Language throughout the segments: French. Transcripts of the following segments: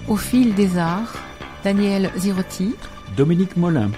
Au fil des arts, Daniel Zirotti, Dominique Molin.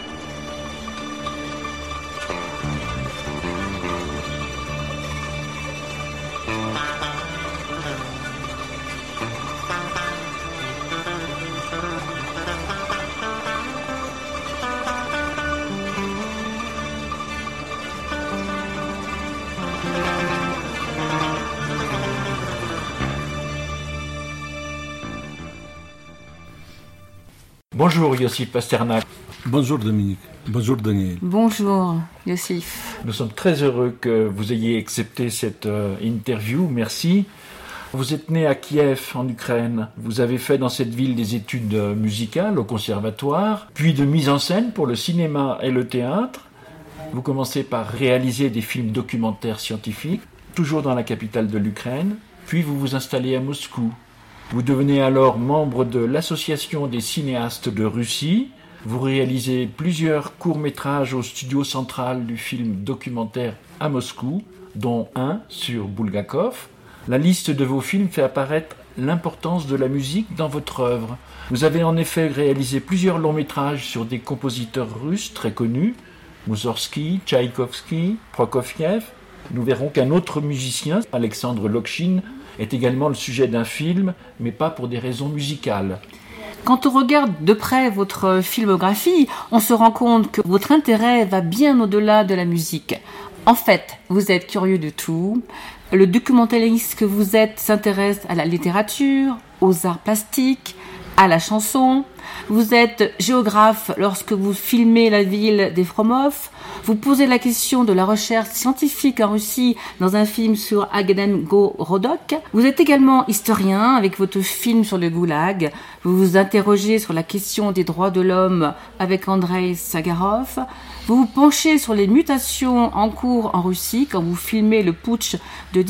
Bonjour Yossif Pasternak. Bonjour Dominique. Bonjour Daniel. Bonjour Yossif. Nous sommes très heureux que vous ayez accepté cette interview. Merci. Vous êtes né à Kiev, en Ukraine. Vous avez fait dans cette ville des études musicales au conservatoire, puis de mise en scène pour le cinéma et le théâtre. Vous commencez par réaliser des films documentaires scientifiques, toujours dans la capitale de l'Ukraine. Puis vous vous installez à Moscou. Vous devenez alors membre de l'Association des cinéastes de Russie. Vous réalisez plusieurs courts-métrages au studio central du film documentaire à Moscou, dont un sur Bulgakov. La liste de vos films fait apparaître l'importance de la musique dans votre œuvre. Vous avez en effet réalisé plusieurs longs-métrages sur des compositeurs russes très connus, Moussorgsky, Tchaïkovski, Prokofiev. Nous verrons qu'un autre musicien, Alexandre Lokhin, est également le sujet d'un film, mais pas pour des raisons musicales. Quand on regarde de près votre filmographie, on se rend compte que votre intérêt va bien au-delà de la musique. En fait, vous êtes curieux de tout. Le documentaliste que vous êtes s'intéresse à la littérature, aux arts plastiques, à la chanson. Vous êtes géographe lorsque vous filmez la ville d'Efremov. Vous posez la question de la recherche scientifique en Russie dans un film sur Agamenko-Rodok. Vous êtes également historien avec votre film sur le goulag. Vous vous interrogez sur la question des droits de l'homme avec Andrei Sagarov. Vous vous penchez sur les mutations en cours en Russie quand vous filmez le putsch de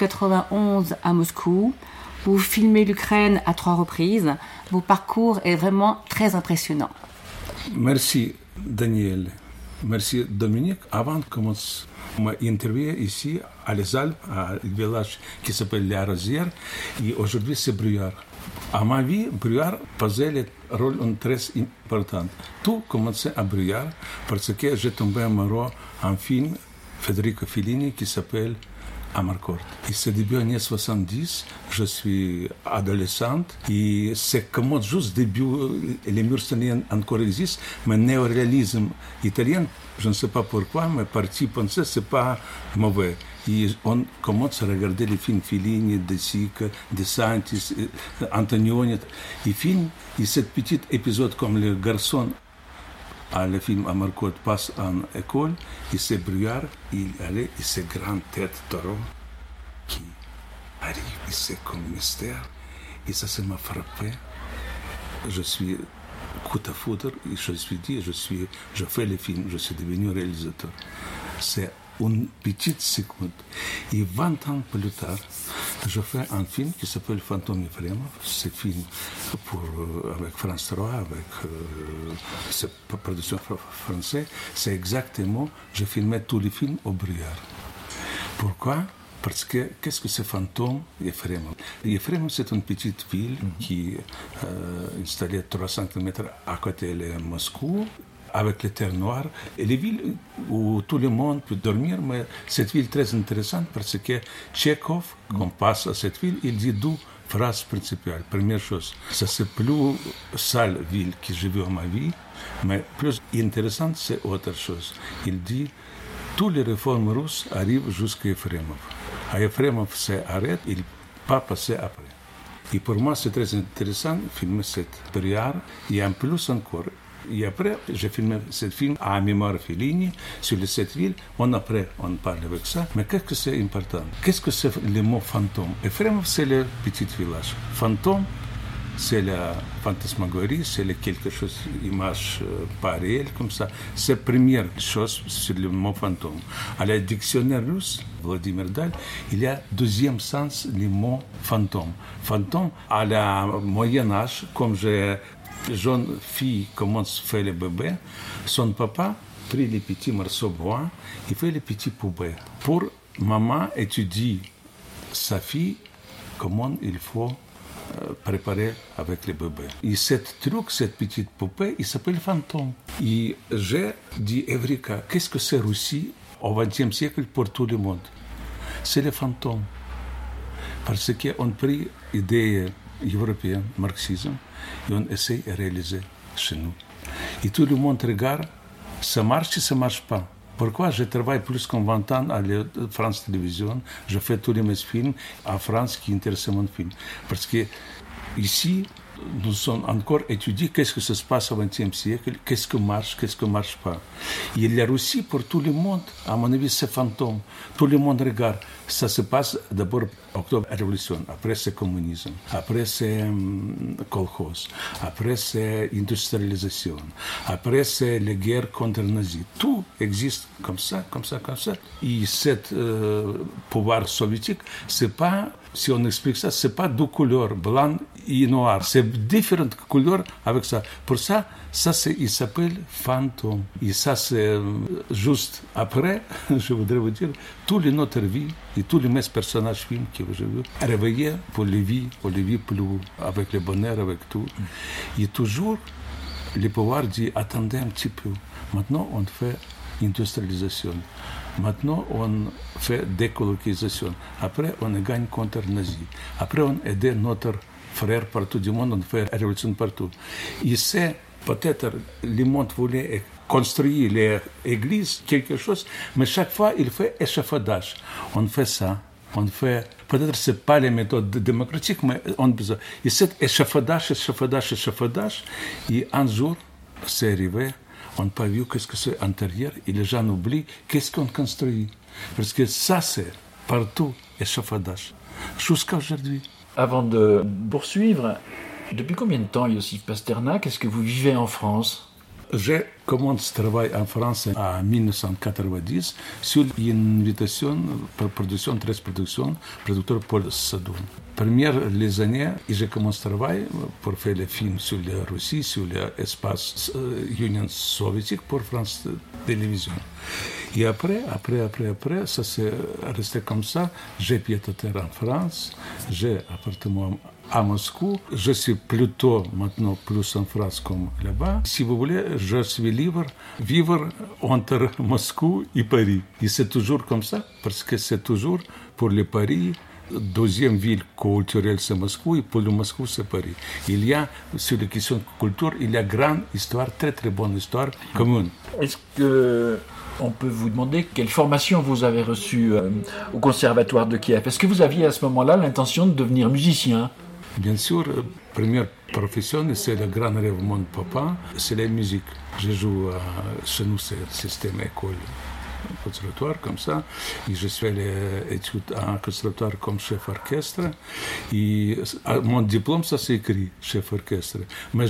1991 à Moscou. Vous filmez l'Ukraine à 3 reprises. Votre parcours est vraiment très impressionnant. Merci Daniel. Merci Dominique. Avant de commencer ma interview ici à Les Alpes, à un village qui s'appelle Les Rosières, et aujourd'hui c'est Bruyères. À ma vie, Bruyères faisait le rôle très important. Tout commençait à Bruyères parce que j'ai tombé amoureux en film Federico Fellini qui s'appelle Amarcord. Et c'est début années 70, je suis adolescente et c'est comme juste début, les murs italiens encore existent, mais le néoréalisme italien, je ne sais pas pourquoi, mais parti penser c'est pas mauvais. Et on commence à regarder les films Fellini, De Sica, De Santis, Antonioni, les films, et ce petit épisode comme le garçon le film Amarcord passe en école, et c'est Bruyères, il allait, et c'est grande tête taureau qui arrive, et c'est comme mystère, et ça m'a frappé. Je suis coup à foudre, et je suis dit, je fais le film, je suis devenu réalisateur. C'est une petite seconde. Et 20 ans plus tard, je fais un film qui s'appelle Fantôme Ephremov. C'est un film avec France 3, avec cette production française. C'est exactement, je filmais tous les films au Bruyères. Pourquoi? Parce que, qu'est-ce que c'est Fantôme Ephremov? Ephremov, c'est une petite ville qui est installée à 300 km à côté de Moscou, avec les terres noires, et les villes où tout le monde peut dormir, mais cette ville est très intéressante parce que Tchekhov, quand on passe à cette ville, il dit 2 phrases principales. Première chose, ça c'est plus sale ville que j'ai vue en ma vie, mais plus intéressante, c'est autre chose. Il dit, toutes les réformes russes arrivent jusqu'à Ephremov. À Ephremov, c'est arrête, il ne pas passer après. Et pour moi, c'est très intéressant de filmer cette Bruyères, et en plus encore, et après, j'ai filmé ce film à mémoire Fellini sur les 7 villes. Après, on parle avec ça. Mais qu'est-ce que c'est important? Qu'est-ce que c'est le mot fantôme? Ephremov, c'est le petit village. Fantôme, c'est la fantasmagorie, c'est quelque chose, image pas réelle, comme ça. C'est la première chose sur le mot fantôme. À la dictionnaire russe, Vladimir Dal, il y a deuxième sens du mot fantôme. Fantôme, à la Moyen-Âge, comme j'ai jeune fille commence à faire le bébé, son papa prit les petits morceaux de bois et fait les petits poupées. Pour maman étudier sa fille, comment il faut préparé avec les bébés. Et cette petite poupée, il s'appelle Fantôme. Et j'ai dit, Evrika, qu'est-ce que c'est Russie au XXe siècle pour tout le monde? C'est le fantôme. Parce qu'on a pris l'idée européenne, marxisme, et on essaie de réaliser chez nous. Et tout le monde regarde, ça marche et ça ne marche pas. Pourquoi je travaille plus que 20 ans à la France Télévisions, je fais tous mes films en France qui intéressent mon film. Parce que ici, nous sommes encore étudiés qu'est-ce que ça se passe au XXe siècle, qu'est-ce qui marche pas. Et la Russie, pour tout le monde, à mon avis, c'est fantôme. Tout le monde regarde. Ça se passe d'abord octobre révolution, après c'est communisme, après c'est kolkhoz, après c'est industrialisation, après c'est la guerre contre les nazis. Tout existe comme ça. Et cet pouvoir soviétique, c'est pas, si on explique ça, c'est pas deux couleurs, blanc et noir. C'est différentes couleurs avec ça. Pour ça, il s'appelle fantôme. Et ça, c'est juste après, je voudrais vous dire, toute notre vie et tous les mes personnages films que j'ai vus, réveillés pour les vies plus, avec le bonheur, avec tout. Et toujours, le pouvoir dit, attendez un petit peu. Maintenant, on fait industrialisation. Maintenant, on fait décolonisation. Après, on gagne contre les nazis. Après, on aide notre frère partout du monde, on fait révolution partout. Et c'est peut-être le monde voulait construire l'église, quelque chose, mais chaque fois, il fait échafaudage. On fait ça. On fait, peut-être ce n'est pas les méthodes démocratiques, mais on a besoin. Et cet échafaudage, et un jour, c'est arrivé, on n'a pas vu qu'est-ce que c'est intérieur, et les gens oublient qu'est-ce qu'on construit. Parce que ça, c'est partout échafaudage, jusqu'à aujourd'hui. Avant de poursuivre, depuis combien de temps, Iosif Pasternak, est-ce que vous vivez en France? J'ai commencé à travailler en France en 1990 sur une invitation pour production, 13 productions, producteur Paul Sadoun. Première les années, j'ai commencé à travailler pour faire les films sur la Russie, sur l'espace Union soviétique pour France Télévisions. Et après, ça s'est resté comme ça. J'ai pied à terre en France, j'ai appartement à Moscou. Je suis plutôt maintenant plus en France comme là-bas. Si vous voulez, je suis libre vivre entre Moscou et Paris. Et c'est toujours comme ça, parce que c'est toujours pour le Paris. Deuxième ville culturelle, c'est Moscou, et pour le Moscou, c'est Paris. Il y a, sur les questions de culture, il y a grande histoire, très très bonne histoire commune. Est-ce qu'on peut vous demander quelle formation vous avez reçue au Conservatoire de Kiev? Est-ce que vous aviez à ce moment-là l'intention de devenir musicien? Bien sûr, première profession, c'est le grand rêve de mon papa, c'est la musique. Je joue chez nous, c'est le système école. Conservatoire comme ça, et je fais les études en conservatoire comme chef orchestre, et mon diplôme ça c'est écrit chef orchestre, mais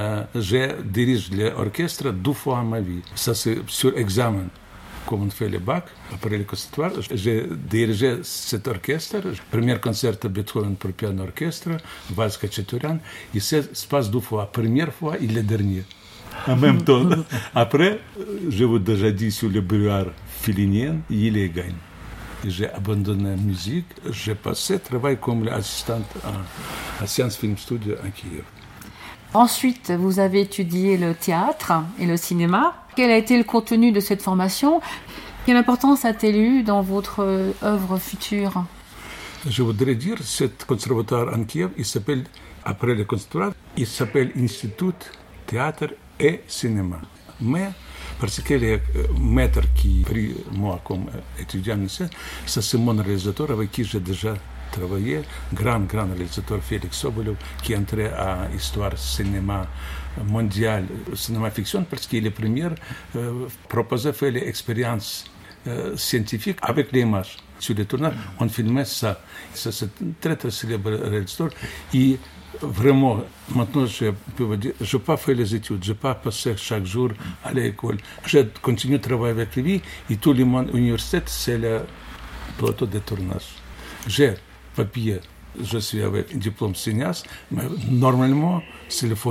je dirige l'orchestre 2 fois en ma vie, ça c'est sur examen. Comme on fait le bac, après le conservatoire, j'ai dirigé cet orchestre. Premier concert de Beethoven pour piano orchestre, Valse Khachaturian, et ça se passe 2 fois, première fois et la dernière. En même temps. Après, je vous ai déjà dit sur le brouillard félinien, il est gagne. J'ai abandonné la musique. J'ai passé travail comme assistante à Science Film Studio à Kiev. Ensuite, vous avez étudié le théâtre et le cinéma. Quel a été le contenu de cette formation? Quelle importance a-t-elle eu dans votre œuvre future? Je voudrais dire, ce conservatoire en Kiev, il s'appelle, après le conservatoire, il s'appelle Institut Théâtre et Cinéma. Mais, parce que le maître qui a pris moi comme étudiant ici, ça c'est mon réalisateur avec qui j'ai déjà travaillé, grand réalisateur Félix Sobolev, qui est entré à l'histoire cinéma mondial, cinéma fiction, parce qu'il est le premier proposé faire l'expérience scientifique avec les images. Sur les tournages, on filmait ça. Ça c'est un très très célèbre réalisateur. Et vraiment, maintenant, je peux vous dire, je n'ai pas fait les études, je n'ai pas passé chaque jour à l'école. Je continue à travailler avec lui et tout le monde à l'université, c'est le plateau de tournage. J'ai papier, je suis avec un diplôme cinéaste, mais normalement, c'est le faux.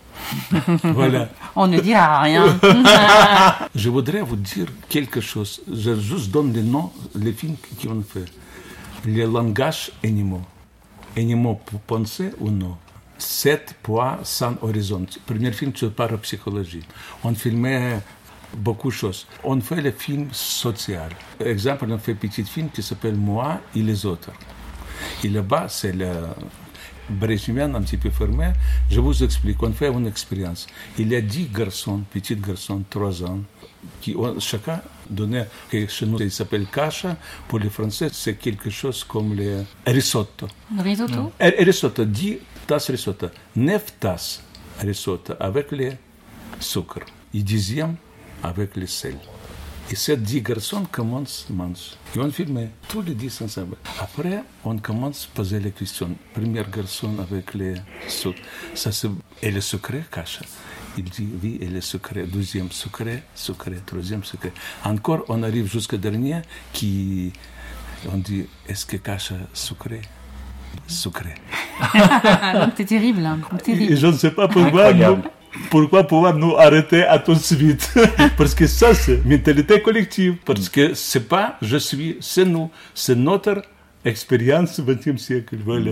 Voilà. On ne dira rien. Je voudrais vous dire quelque chose. Je juste donne les noms, les films qu'on fait. Les langages animaux. Animaux pour penser ou non? 7 poids sans horizon. Premier film sur parapsychologie. On filmait beaucoup de choses. On fait le film social. Par exemple, on fait un petit film qui s'appelle Moi et les autres. Et là-bas, c'est le Brésilien un petit peu fermé. Je vous explique. On fait une expérience. Il y a 10 garçons, petits garçons, 3 ans, qui ont chacun donné, que chez nous, il s'appelle kasha. Pour les Français, c'est quelque chose comme le risotto. Le risotto? Risotto, 10 tasses risotto. 9 tasses risotto avec le sucre. Et 10e avec le sel. Et ces 10 garçons commencent à manger. Et on filmait tous les 10 ensemble. Après, on commence à poser les questions. Premier garçon avec le sucre. Ça, c'est... Et le secret, kasha. Il dit oui, et le secret. Deuxième secret, troisième secret. Encore, on arrive jusqu'au dernier qui... On dit, est-ce que kasha sucré? Sucré. Donc c'est terrible, hein. Terrible. Et je ne sais pas pourquoi pouvoir nous arrêter à tout de suite. Parce que ça, c'est mentalité collective. Parce que c'est pas je suis, c'est nous. C'est notre expérience du XXe siècle. Voilà.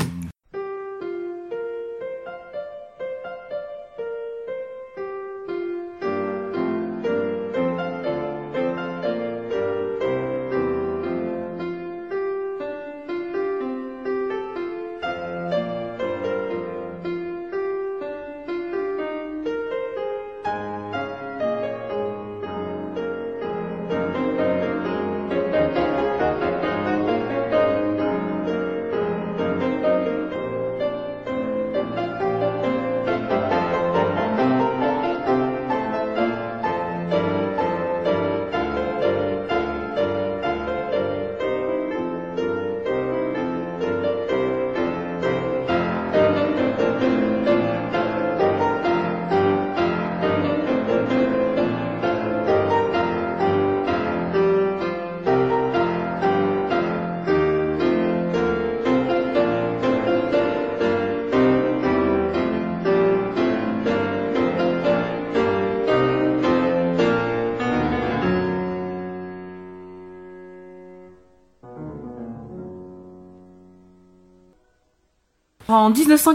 En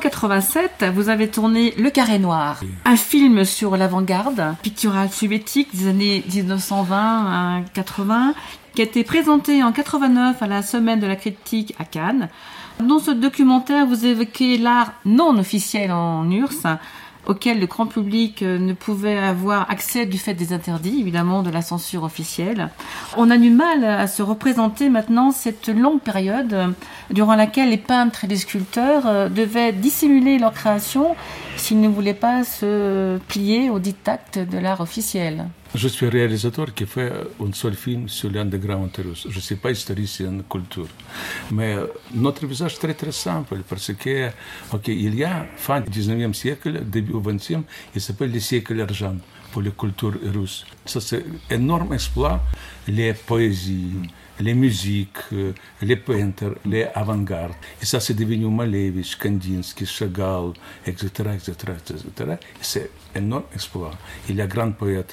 1987, vous avez tourné Le Carré Noir, un film sur l'avant-garde picturale soviétique des années 1920 à 80, qui a été présenté en 89 à la Semaine de la critique à Cannes. Dans ce documentaire, vous évoquez l'art non officiel en URSS, auquel le grand public ne pouvait avoir accès du fait des interdits, évidemment, de la censure officielle. On a du mal à se représenter maintenant cette longue période durant laquelle les peintres et les sculpteurs devaient dissimuler leur création s'ils ne voulaient pas se plier au diktat de l'art officiel. Je suis réalisateur qui fait un seul film sur l'underground russe. Je ne suis pas historien de culture. Mais notre visage est très très simple parce que, il y a fin du 19e siècle, début du 20e, il s'appelle le siècle argent pour la culture russe. Ça, c'est un énorme exploit. Les poésies, les musiques, les peintres, les avant-gardes. Et ça, c'est devenu Malevich, Kandinsky, Chagall, etc., etc., etc. C'est un énorme exploit. Il y a grand poète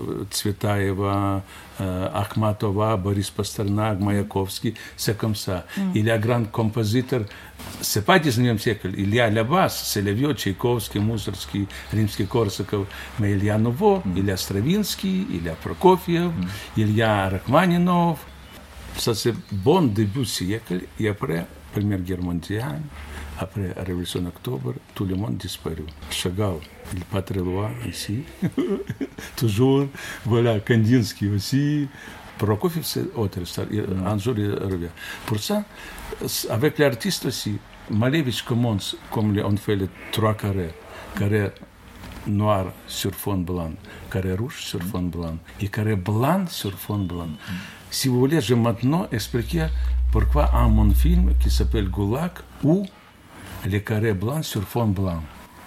Tsvetaeva, Akhmatova, Boris Pasternak, Mayakovsky, c'est comme ça. Il y a grand compositeur, c'est pas 19e siècle, il y a la base, c'est le vieux Tchaïkovsky, Mussorgsky, Rimsky-Korsakov, mais il y a nouveau, il y a Stravinsky, il y a Prokofiev, il y a Rachmaninov. Ça, c'est bon début du siècle, et après, Première Guerre mondiale, après la Révolution d'Octobre, tout le monde disparu. Chagall, il n'est pas très loin ici, toujours. Voilà, Kandinsky aussi. Prokofiev, c'est autre, un jour il revient. Pour ça, avec l'artiste aussi, Malevich commence, comme on fait les 3 carrés. Carré noir sur fond blanc, carré rouge sur fond blanc, et carré blanc sur fond blanc. Si vous voulez, je vais maintenant expliquer pourquoi un mon film qui s'appelle Goulag ou les carrés blancs sur fond blanc.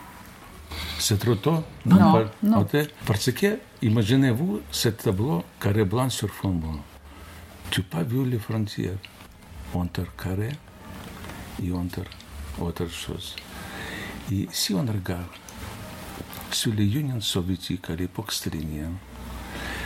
C'est trop tôt? Non. Parce que, imaginez-vous, ce tableau carré blanc sur fond blanc. Tu n'as pas vu les frontières entre carré et entre autre chose. Et si on regarde sur l'Union soviétique à l'époque stalinienne,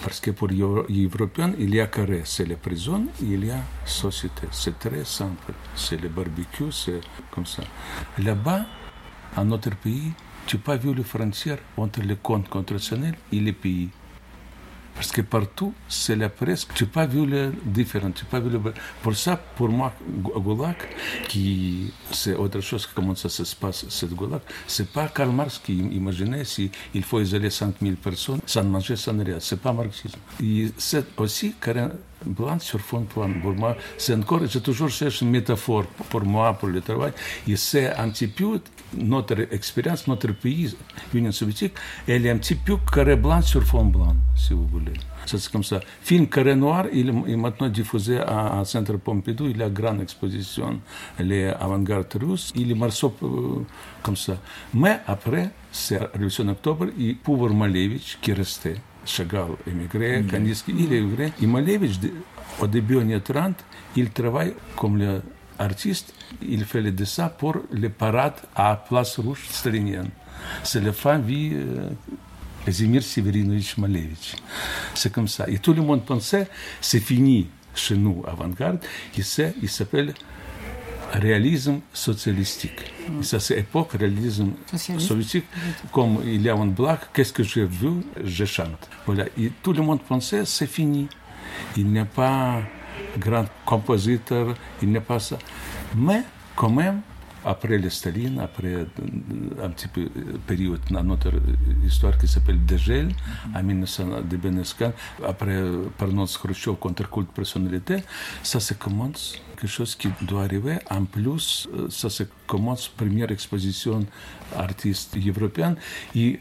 Parce que pour les Européens, il y a carré, c'est la prison, il y a société. C'est très simple. C'est le barbecue, c'est comme ça. Là-bas, dans notre pays, tu n'as pas vu les frontières entre les comptes contractionnels et les pays. Parce que partout, c'est la presse. Tu n'as pas vu les différents. Pour ça, pour moi, Goulag, c'est autre chose, comment ça se passe, cette Goulag. Ce n'est pas Karl Marx qui imaginait s'il faut isoler 5000 personnes sans manger, sans rien. Ce n'est pas marxisme. Et c'est aussi carré blanc sur fond blanc. Pour moi, c'est encore, j'ai toujours cherché une métaphore pour moi, pour le travail. Et c'est un petit peu notre expérience, notre pays, l'Union soviétique, elle est un petit peu carré blanc sur fond blanc, si vous voulez. C'est comme ça. Film Carré Noir, il est maintenant diffusé à Centre Pompidou, il a une grande exposition, les avant-garde russes, il est morceau comme ça. Mais après, c'est la Révolution d'Octobre, et Pouvoir Malevich qui restait. Chagall émigré, Kandinsky, il est émigré. Et Malevich, au début des années 30, il travaille comme artiste. Il fait les dessins pour les parades à Place Rouge stalinienne. C'est la famille Kazimir Severinovich Malevich. C'est comme ça. Et tout le monde pensait, c'est fini chez nous, avant-garde. Il s'appelle réalisme socialistique. Et ça, c'est époque réalisme soviétique. Comme il y a une blague, qu'est-ce que j'ai vu, je chante. Voilà. Et tout le monde pensait, c'est fini. Il n'est pas grand compositeur, il n'est pas ça. Mais quand même, après le Staline, après un petit peu période dans notre histoire qui s'appelle Dégel, en 1995, après Parnos Khrushchev contre culte personnalité, ça se commence quelque chose qui doit arriver. En plus, ça se commence première exposition artiste européenne et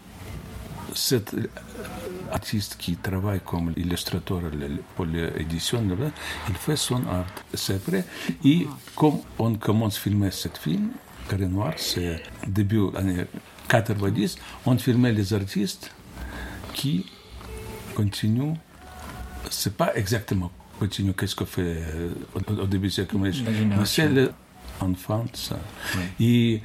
cette artiste qui travaille comme illustrateur pour l'édition, il fait son art. C'est vrai. Et comme on commence à filmer ce film, Carré Noir, c'est début des années 90, on filmait les artistes qui continuent. C'est pas exactement continue qu'est-ce qu'on fait au début du siècle, mais c'est l'enfant, ça. Oui. Et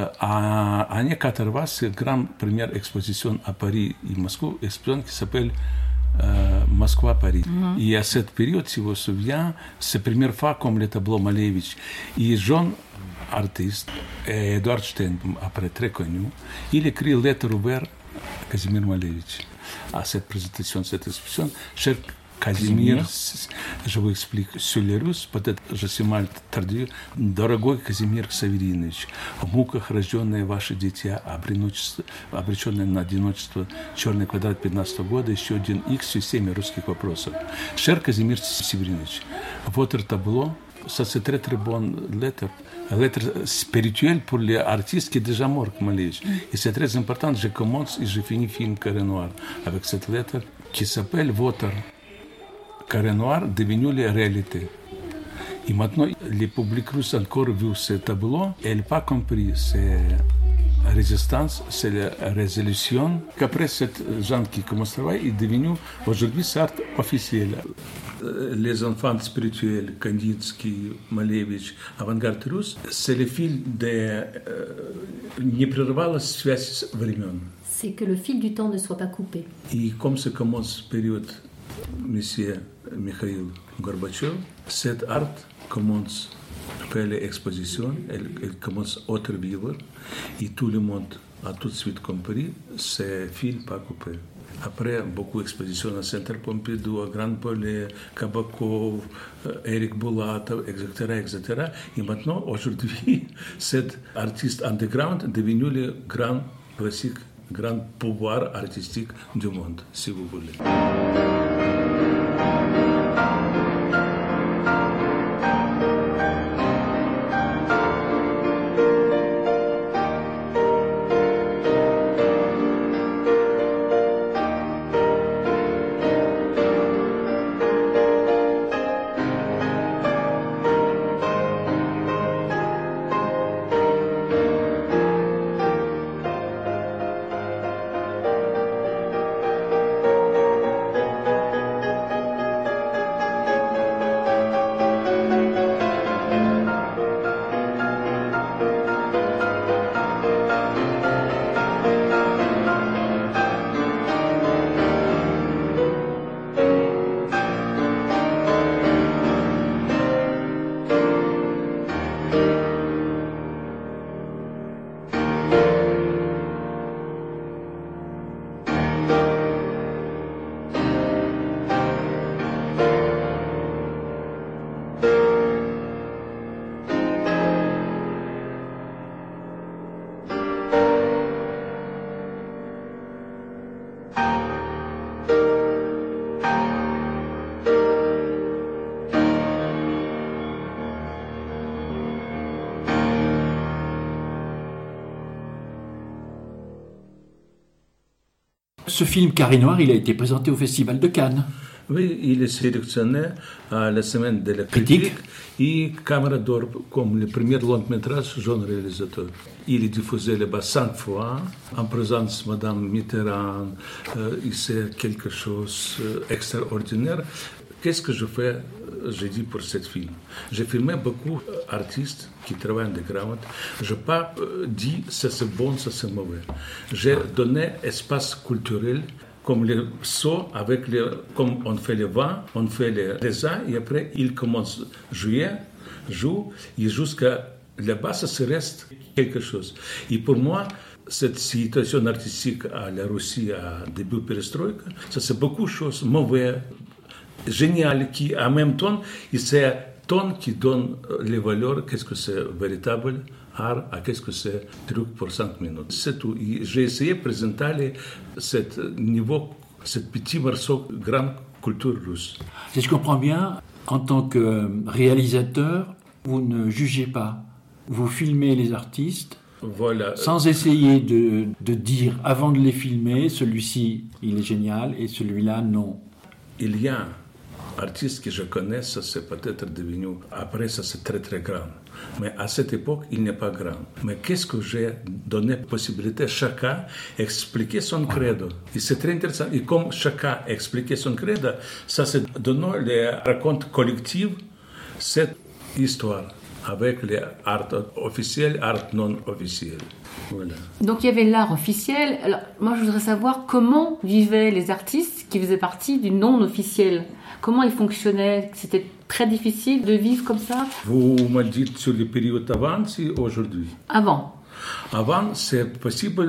en années 80, c'est la grande première exposition à Paris et Moscou, exposition qui s'appelle Moscou-Paris. Et à cette période, si vous vous souvenez, c'est la première fois comme le tableau Malevich. Et jeune artiste, Edouard Stein, après très connu, il écrit lettre ouverte à Kazimir Malevich. À cette présentation, cette exposition, cher Казимир, je vous explique, sur les Russes, peut-être je suis mal traduit. Дорогой Казимир Северинович, в муках рожденное ваше дитя, обреченное на одиночество, черный квадрат 15 года, еще один X, системе русских вопросов. Cher Казимир Северинович, votre tableau, ça c'est très très bonne lettre spirituelle pour les artistes qui est déjà mort, Malevich. Et c'est très important, je commence et je finis film Carré Noir avec cette lettre qui s'appelle Votre Carré Noir devenu la réalité. Et maintenant, le public russe encore vu ce tableau, et n'a pas compris. C'est la résistance, c'est la résolution. Qu'après, cette gens qui commence à travailler est devenu, aujourd'hui, c'est art officiel. Les enfants spirituels, Kandinsky, Malevich, avant-garde russe, c'est le fil de непрерывалась связь времен. C'est que le fil du temps ne soit pas coupé. Et comme ça commence la période Monsieur Mikhail Gorbatchev, cette art commence à faire l'exposition, elle commence à être vivre, et tout le monde a tout de suite compris, c'est fil pas coupé. Après, beaucoup d'expositions à Centre Pompidou, à Grand Palais, Kabakov, Eric Bulatov, etc. Et maintenant, aujourd'hui, cet artiste underground est devenu le grand classique, grand pouvoir artistique du monde, si vous voulez. ce film Carré Noir, il a été présenté au Festival de Cannes. Oui, il est sélectionné à la semaine de la critique et Caméra d'Or comme le premier long-métrage jeune réalisateur. Il est diffusé là-bas 5 fois en présence de Madame Mitterrand. C'est quelque chose d'extraordinaire. Qu'est-ce que je fais, j'ai dit, pour ce film? J'ai filmé beaucoup d'artistes qui travaillent en grammaire. Je n'ai pas dit ça c'est bon, ça c'est mauvais. J'ai donné espace culturel comme les sauts, comme on fait le vin, on fait les raisins, et après, ils commencent à jouer, et jusqu'à là-bas, ça reste quelque chose. Et pour moi, cette situation artistique à la Russie, à début perestroïka, ça c'est beaucoup de choses mauvaises, géniales, qui en même temps, c'est ton qui donne les valeurs, qu'est-ce que c'est véritable art, à qu'est-ce que c'est truc pour 5 minutes. C'est tout. J'ai essayé de présenter ce niveau, ce petit morceau de grande culture russe. Si je comprends bien, en tant que réalisateur, vous ne jugez pas. Vous filmez les artistes voilà. Sans essayer de dire, avant de les filmer, celui-ci, il est génial, et celui-là, non. Il y a un artiste que je connais, ça c'est peut-être devenu, après ça c'est très très grand. Mais à cette époque, il n'est pas grand. Mais qu'est-ce que j'ai donné possibilité à chacun d'expliquer son credo. Et c'est très intéressant. Et comme chacun expliquait son credo, ça c'est donné les racontes collectives, cette histoire, avec les arts officiels, arts non officiels. Voilà. Donc il y avait l'art officiel. Alors moi je voudrais savoir comment vivaient les artistes qui faisaient partie du non officiel. Comment ils fonctionnaient? C'était très difficile de vivre comme ça? Vous me dites sur les périodes avant ou aujourd'hui? Avant. Avant, c'est possible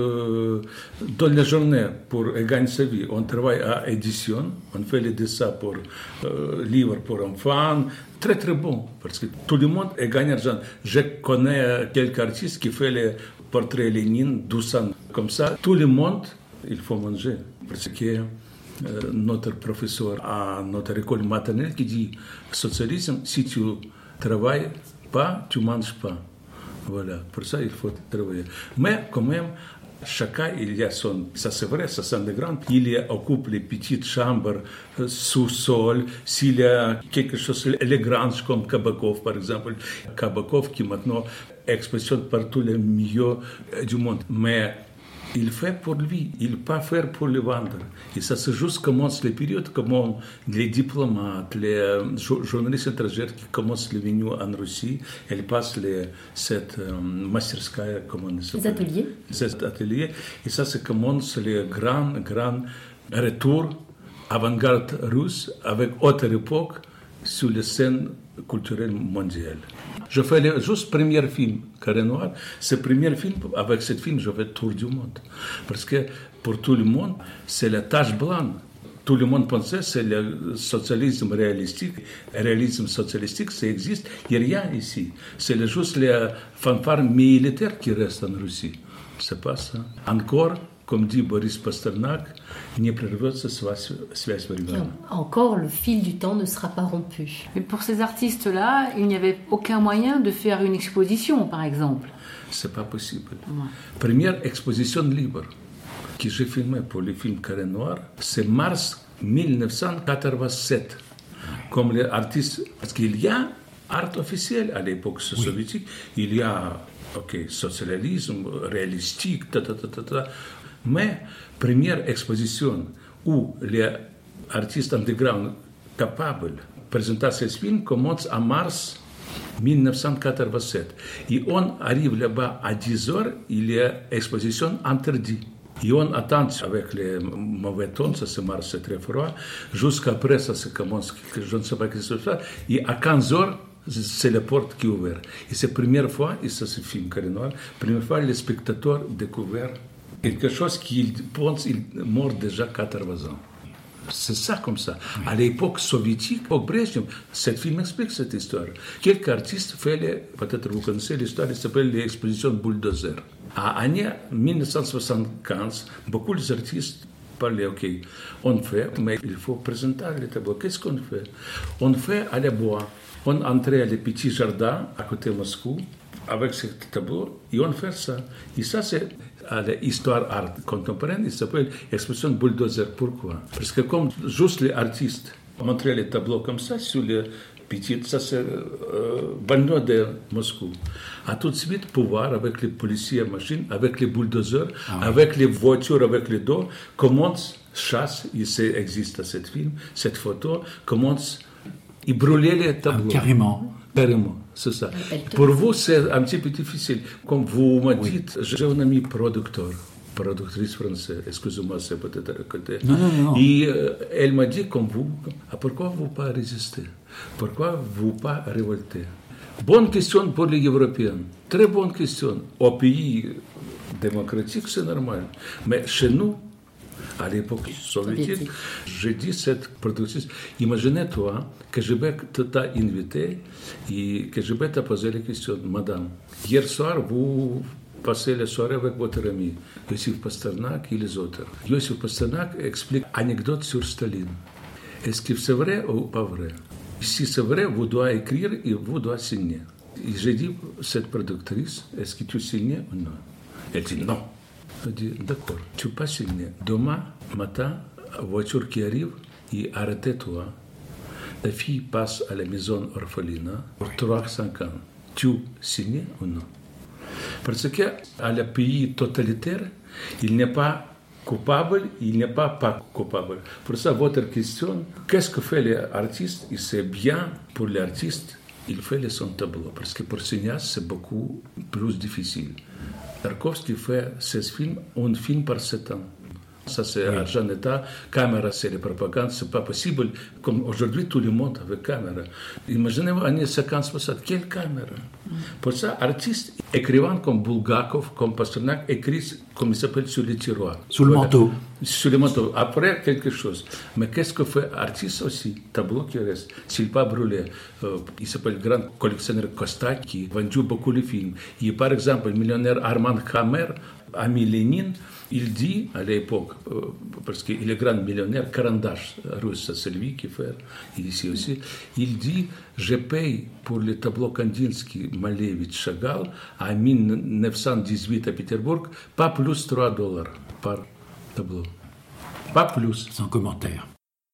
dans la journée pour gagner sa vie. On travaille à édition, on fait les dessins pour livres pour enfants. Très très bon, parce que tout le monde gagne argent. Je connais quelques artistes qui font les portraits Lénine, 12 ans. Comme ça, tout le monde, il faut manger. Parce que notre professeur à notre école maternelle qui dit socialisme, si tu travailles pas, tu manges pas. Voilà, pour ça il faut travailler. Mais quand même, chacun il y a son, ça c'est vrai, ça c'est grand. Il occupe les petites chambres sous-sol. S'il y a quelque chose, les granges comme Kabakov par exemple, Kabakov qui maintenant expressionne par tous les milieux du monde. Mais il fait pour lui, il ne peut pas faire pour le vendre. Et ça c'est juste commence les périodes, comment les diplomates, les journalistes étrangers qui commencent les venus en Russie, elles passent cette masterskaya, comment on s'appelle? Les ateliers. Ces ateliers. Et ça commence les grands retours avant-garde russe avec autre époque sur la scène culturelle mondiale. Je fais juste le premier film, Carré Noir. Ce premier film, avec ce film, je fais le tour du monde. Parce que pour tout le monde, c'est la tache blanche. Tout le monde pensait que c'est le socialisme réalistique. Le réalisme socialistique, ça existe. Il n'y a rien ici. C'est juste les fanfares militaires qui restent en Russie. C'est pas ça. Encore, comme dit Boris Pasternak, не прервется связь времени. Encore, le fil du temps ne sera pas rompu. Mais pour ces artistes-là, il n'y avait aucun moyen de faire une exposition, par exemple. C'est pas possible. Ouais. Première exposition libre que j'ai filmée pour le film Carré Noir, c'est mars 1987. Comme les artistes, parce qu'il y a art officiel à l'époque soviétique, il y a socialisme, réalistique, mais première exposition où les artistes underground capables de présenter ces films commence en mars 1987. Et on arrive là-bas à 10 heures, il y a exposition interdite. Et on attend avec les mauvais temps, ça se marche, c'est très froid, jusqu'après ça se commence, je ne sais pas ce que c'est ça, et à 15 heures, c'est la porte qui est ouverte. Et c'est la première fois, et ça se filme Carré Noir, première fois les spectateurs découvrent quelque chose qu'ils pensent qu'il est mort déjà 80 ans. C'est ça comme ça. À l'époque soviétique, au Brezhnev, ce film explique cette histoire. Quelques artistes font, peut-être vous connaissez l'histoire, il s'appelle l'exposition Bulldozer. À l'année 1975, beaucoup d'artistes parlaient, on fait, mais il faut présenter les tableaux. Qu'est-ce qu'on fait? On fait à la bois. On entrait à les petits jardins à côté de Moscou, avec ce tableau, et on fait ça. Et ça, c'est à l'histoire art contemporaine, il s'appelle exposition bulldozer. Pourquoi? Parce que comme juste les artistes montraient les tableaux comme ça sur les petites, ça c'est banlieue de Moscou. À tout de suite pouvoir avec les policiers machines, avec les bulldozers, avec les voitures, avec les dos, commence chasse, il existe cette film, cette photo, commence à brûler les tableaux. Carrément. Carrément, c'est ça. Pour vous, c'est un petit peu difficile. Comme vous m'avez dit, j'ai un ami productrice française, excusez-moi, c'est peut-être à côté. Non. Et elle m'a dit, comme vous, pourquoi vous pas résister? Pourquoi vous pas révolter? Bonne question pour les Européens, très bonne question. Au pays démocratique, c'est normal. Mais chez nous, à l'époque soviétique, j'ai dit cette productrice, imaginez-toi que je vais t'inviter et que je vais te poser la question, madame, hier soir, vous passez la soirée avec votre ami, Yossif Pasternak et les autres. Yossif Pasternak explique une anecdote sur Staline. Est-ce que c'est vrai ou pas vrai? Si c'est vrai, vous devez écrire et vous devez signer. Et j'ai dit, cette productrice, est-ce que tu signes ou non? Elle dit non. Je dis, d'accord, tu peux pas signer. Demain matin, voiture qui arrive, et arrêtez-toi. Ta fille passe à la maison orphelinat pour 3-5 ans. Tu signes ou non? Parce qu'à le pays totalitaire, il n'est pas coupable, il n'est pas coupable. Pour ça, votre question, qu'est-ce que fait l'artiste? Et c'est bien pour l'artiste, il fait son tableau. Parce que pour cinéaste, c'est beaucoup plus difficile. Tarkovsky fait 16 films, un film par 7 ans. Ça, c'est argent d'État. Caméra, c'est la propagande. C'est pas possible. Comme aujourd'hui, tout le monde avec caméra. Imaginez-vous, années 50-60, quelle caméra? Pour ça, artistes, écrivains comme Bulgakov, comme Pasternak, écrivent, comme il s'appelle, sur les tiroirs. Sous le manteau. Sur le manteau. Après, quelque chose. Mais qu'est-ce que fait artiste aussi? Tableau qui reste. S'il pas brûlé. Il s'appelle le grand collectionneur Costa qui a vendu beaucoup de films. Et par exemple, le millionnaire Armand Hammer, ami Lénine, il dit à l'époque, parce qu'il est grand millionnaire, Karandash russe, c'est lui qui fait, ici aussi, il dit, je paye pour les tableaux Kandinsky, Malevich, Chagall, en 1918 à Pétersbourg, pas plus $3 par tableau. Pas plus. Sans commentaire.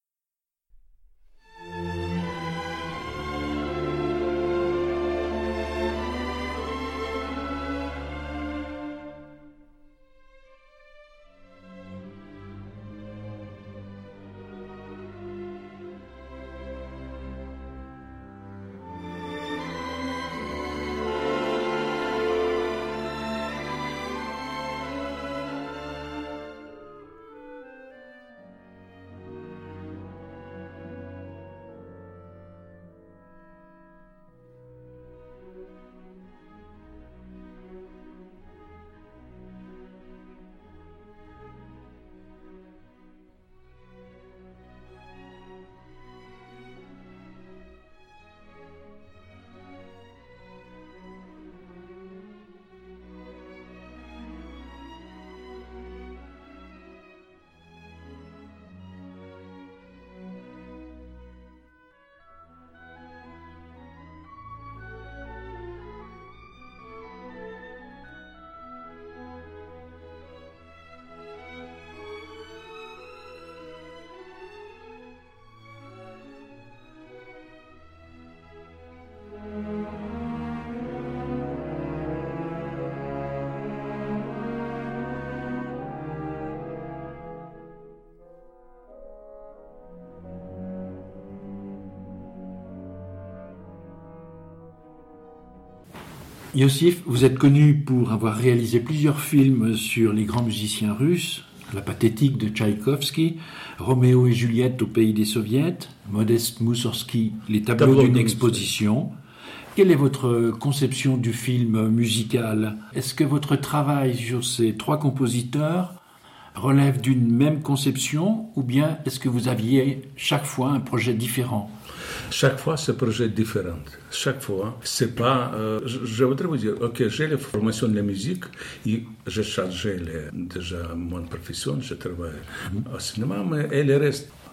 Yossif, vous êtes connu pour avoir réalisé plusieurs films sur les grands musiciens russes, La Pathétique de Tchaïkovski, Roméo et Juliette au pays des soviets, Modeste Moussorski, Les tableaux d'une exposition. Quelle est votre conception du film musical? Est-ce que votre travail sur ces 3 compositeurs relève d'une même conception ou bien est-ce que vous aviez chaque fois un projet différent? Chaque fois, c'est un projet différent. Chaque fois, c'est pas... je voudrais vous dire, ok, j'ai la formation de la musique et j'ai changé déjà mon profession, je travaille au cinéma, mais elle reste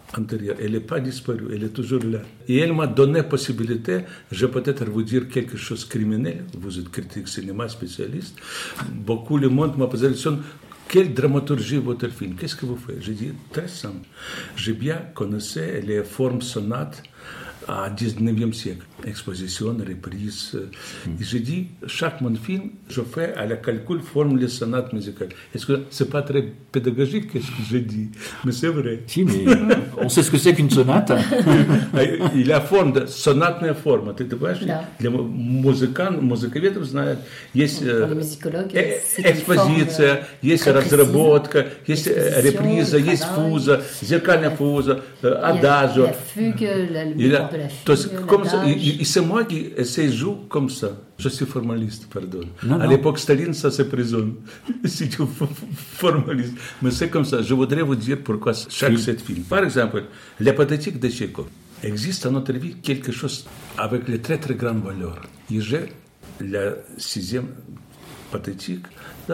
antérieure. Elle n'est pas disparue, elle est toujours là. Et elle m'a donné la possibilité, je vais peut-être vous dire quelque chose de criminel, vous êtes critique cinéma, spécialiste. Beaucoup de monde m'a posé la question, quelle dramaturgie votre film? Qu'est-ce que vous faites? J'ai dit, très simple. J'ai bien connaissé les formes sonates à 19e siècle. Exposition, reprise. Et j'ai dit, chaque mon film, je fais à la calcul forme les sonates musicales. Est-ce que c'est pas très pédagogique ce que j'ai dit? Mais c'est vrai. Si, mais on sait ce que c'est qu'une sonate. Il a forme de сонатная форма. Ты понимаешь? Для музыковедов знают, есть экспозиция, есть разработка, есть реприза, есть фуза, зеркальная фуза, адажо. То есть, comme ça, et c'est moi qui essaie de jouer comme ça. Je suis formaliste, pardon. À l'époque Staline, ça c'est prison. Si tu es formaliste. Mais c'est comme ça. Je voudrais vous dire pourquoi chaque cet film. Par exemple, la pathétique de Tchekhov. Existe à notre vie quelque chose avec les très très grandes valeurs. Et j'ai la 6e pathétique.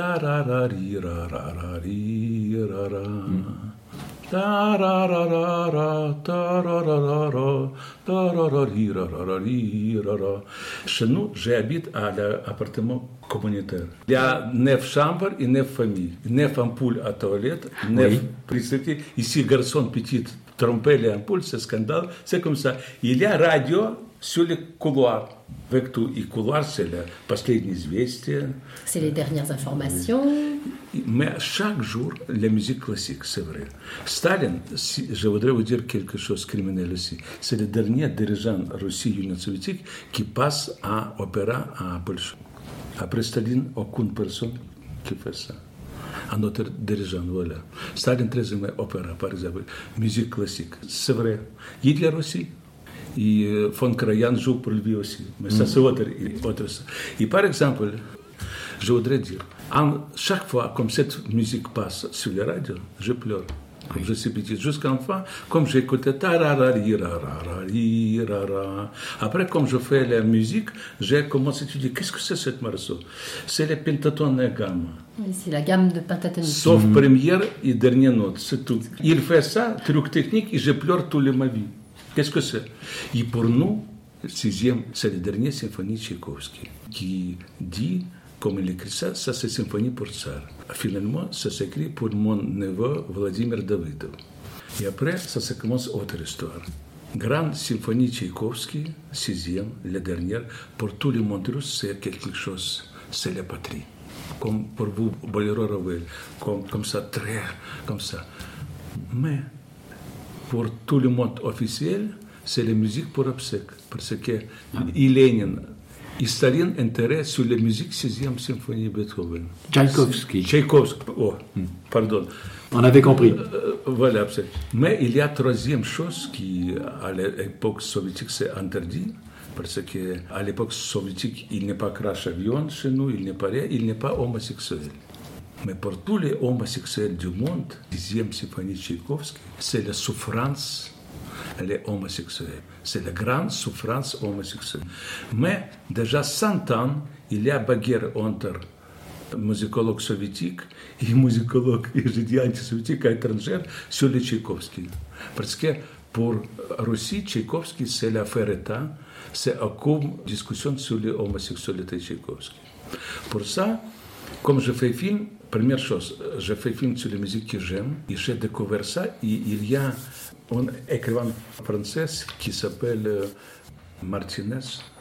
Chez nous, j'habite à l'appartement communautaire. Il y a 9 chambres et 9 familles. 9 ampoules à toilette, 9 prisonniers. Ici, garçon petit, tromper les ampoules, c'est scandale. C'est comme ça. Il y a radio sur les couloirs. Avec tout. Et couloir, c'est le последние известия. C'est les dernières informations. Mais chaque jour, la musique classique, c'est vrai. Staline, je voudrais vous dire quelque chose de criminel aussi. C'est le dernier dirigeant Russie Union soviétique qui passe à opéra à Bolshoi. Après Staline, aucune personne qui fait ça. Un autre dirigeant, voilà. Staline très aimé opéra, par exemple, musique classique. C'est vrai. Hitler aussi. Et von Karajan joue pour lui aussi. Mais ça, c'est autre. Et par exemple, je voudrais dire, chaque fois comme cette musique passe sur les radios, je pleure. Comme je suis petit, jusqu'à enfin, comme j'écoutais après, comme je fais la musique, j'ai commencé à étudier qu'est-ce que c'est cette morceau. C'est la pentatone gamme. Oui, c'est la gamme de pentatonique. Sauf première et dernière note, c'est tout. Il fait ça, truc technique, et je pleure toute ma vie. Qu'est-ce que c'est? Et pour nous, le 6e, c'est la dernière symphonie de Tchaïkovski, qui dit, comme il écrit ça, ça c'est symphonie pour tsar. Finalement, ça s'écrit pour mon neveu Vladimir Davidov. Et après, ça commence autre histoire. Grande symphonie de Tchaïkovski, 6e, la dernière, pour tout le monde russe, c'est quelque chose, c'est la patrie. Comme pour vous, Boléro Ravel, comme ça, très, comme ça. Mais, pour tout le monde officiel, c'est la musique pour obsèques. Parce que Lénine et Staline intérêt sur la musique 6e symphonie de Beethoven. Tchaïkovski, pardon. On avait compris. Voilà, mais il y a 3e chose qui, à l'époque soviétique, c'est interdit. Parce qu'à l'époque soviétique, il n'est pas crash avion chez nous, il n'est pas rien, il n'est pas homosexuel. Mais pour tous les homosexuels du monde, 10e symphonie de Tchaïkovski, c'est la souffrance, les homosexuels. C'est la grande souffrance homosexuelle. Mais déjà 100 ans, il y a bagarre entre musicologues soviétiques et musicologues, je dis antisoviétiques, étrangers, sur les Tchaïkovski. Parce que pour Russie, Tchaïkovski, c'est l'affaire État, c'est aucune discussion sur l'homosexualité de Tchaïkovski. Pour ça, comme je fais film, première chose, je fais film sur la musique que j'aime, et j'ai découvert ça, et il y a un écrivain français qui s'appelle Martinez,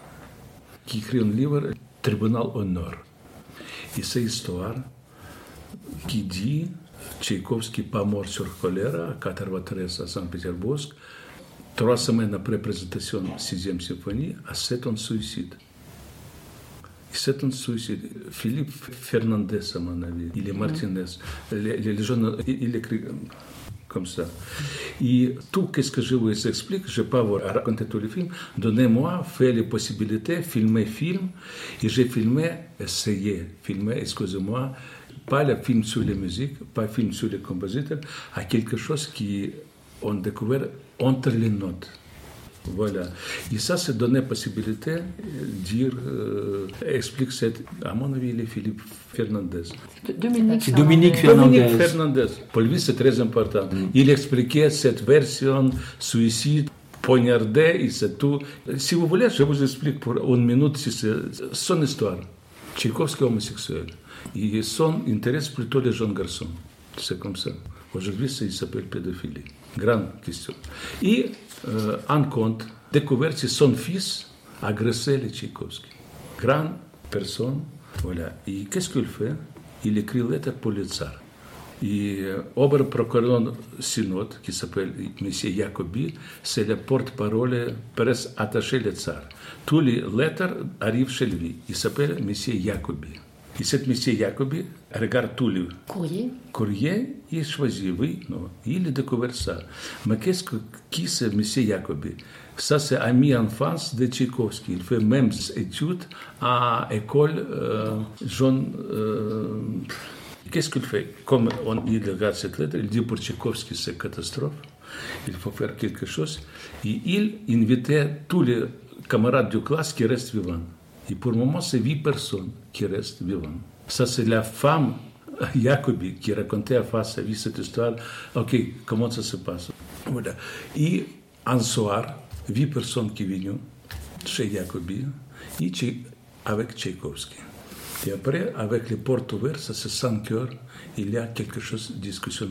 qui écrit un livre, Tribunal Honneur. Et c'est l'histoire qui dit, Tchaïkovski pas mort sur choléra, à 93 à Saint-Pétersbourg, 3 semaines après la présentation de la 6e symphonie, à 7 ans de suicide. C'est un suicide. Philippe Fernandez, à mon avis, il est Martinez. Les jeunes, il écrit comme ça. Et tout ce que je vous explique, je ne vais pas vous raconter tous les films. Donnez-moi, faites les possibilités, filmez film. Et j'ai filmé, excusez-moi, pas le film sur les musiques, pas le film sur les compositeurs, à quelque chose qui on découvert entre les notes. Voilà. Et ça donnait possibilité de dire, explique cette. À mon avis, il est Philippe Fernandez. Dominique Dominique Fernandez. Dominique Fernandez. Pour lui, c'est très important. Il expliquait cette version suicide, poignardé, et c'est tout. Si vous voulez, je vous explique pour une minute son histoire. Tchaïkovski est homosexuel. Et son intéresse plutôt les jeunes garçons. C'est comme ça. Aujourd'hui, il s'appelle pédophilie. Grande question. Et en compte, découvert que son fils agressait les Tchaïkovski. Grande personne. Voilà. Et qu'est-ce qu'il fait? Il écrit une lettre pour le tsar. Et Oberprocureur Synod, qui s'appelle M. Jacobi, c'est le porte-parole presque attaché le tsar. Toutes les lettres arrivent chez lui. Il s'appelle M. Jacobi. Et cet M. Jacobi regarde tous les courriers et choisit, oui, non. Il a découvert ça. Mais qui c'est M. Jacobi? Ça, c'est ami enfance de Tchaïkovski. Il fait même études à l'école jaune. Qu'est-ce qu'il fait? Comme il regarde cette lettre, il dit pour Tchaïkovski, c'est catastrophe. Il faut faire quelque chose. Et il invitait tous les camarades de classe qui restent vivants. Et pour le moment, c'est 8 personnes qui restent vivantes. Ça, c'est la femme Jacobi qui racontait à face sa vie cette histoire. OK, comment ça se passe? Voilà. Et un soir, 8 personnes qui viennent chez Jacobi et avec Tchaïkovski. Et après, avec les portes ouvertes, ça c'est 5 heures, il y a quelque chose de discussion.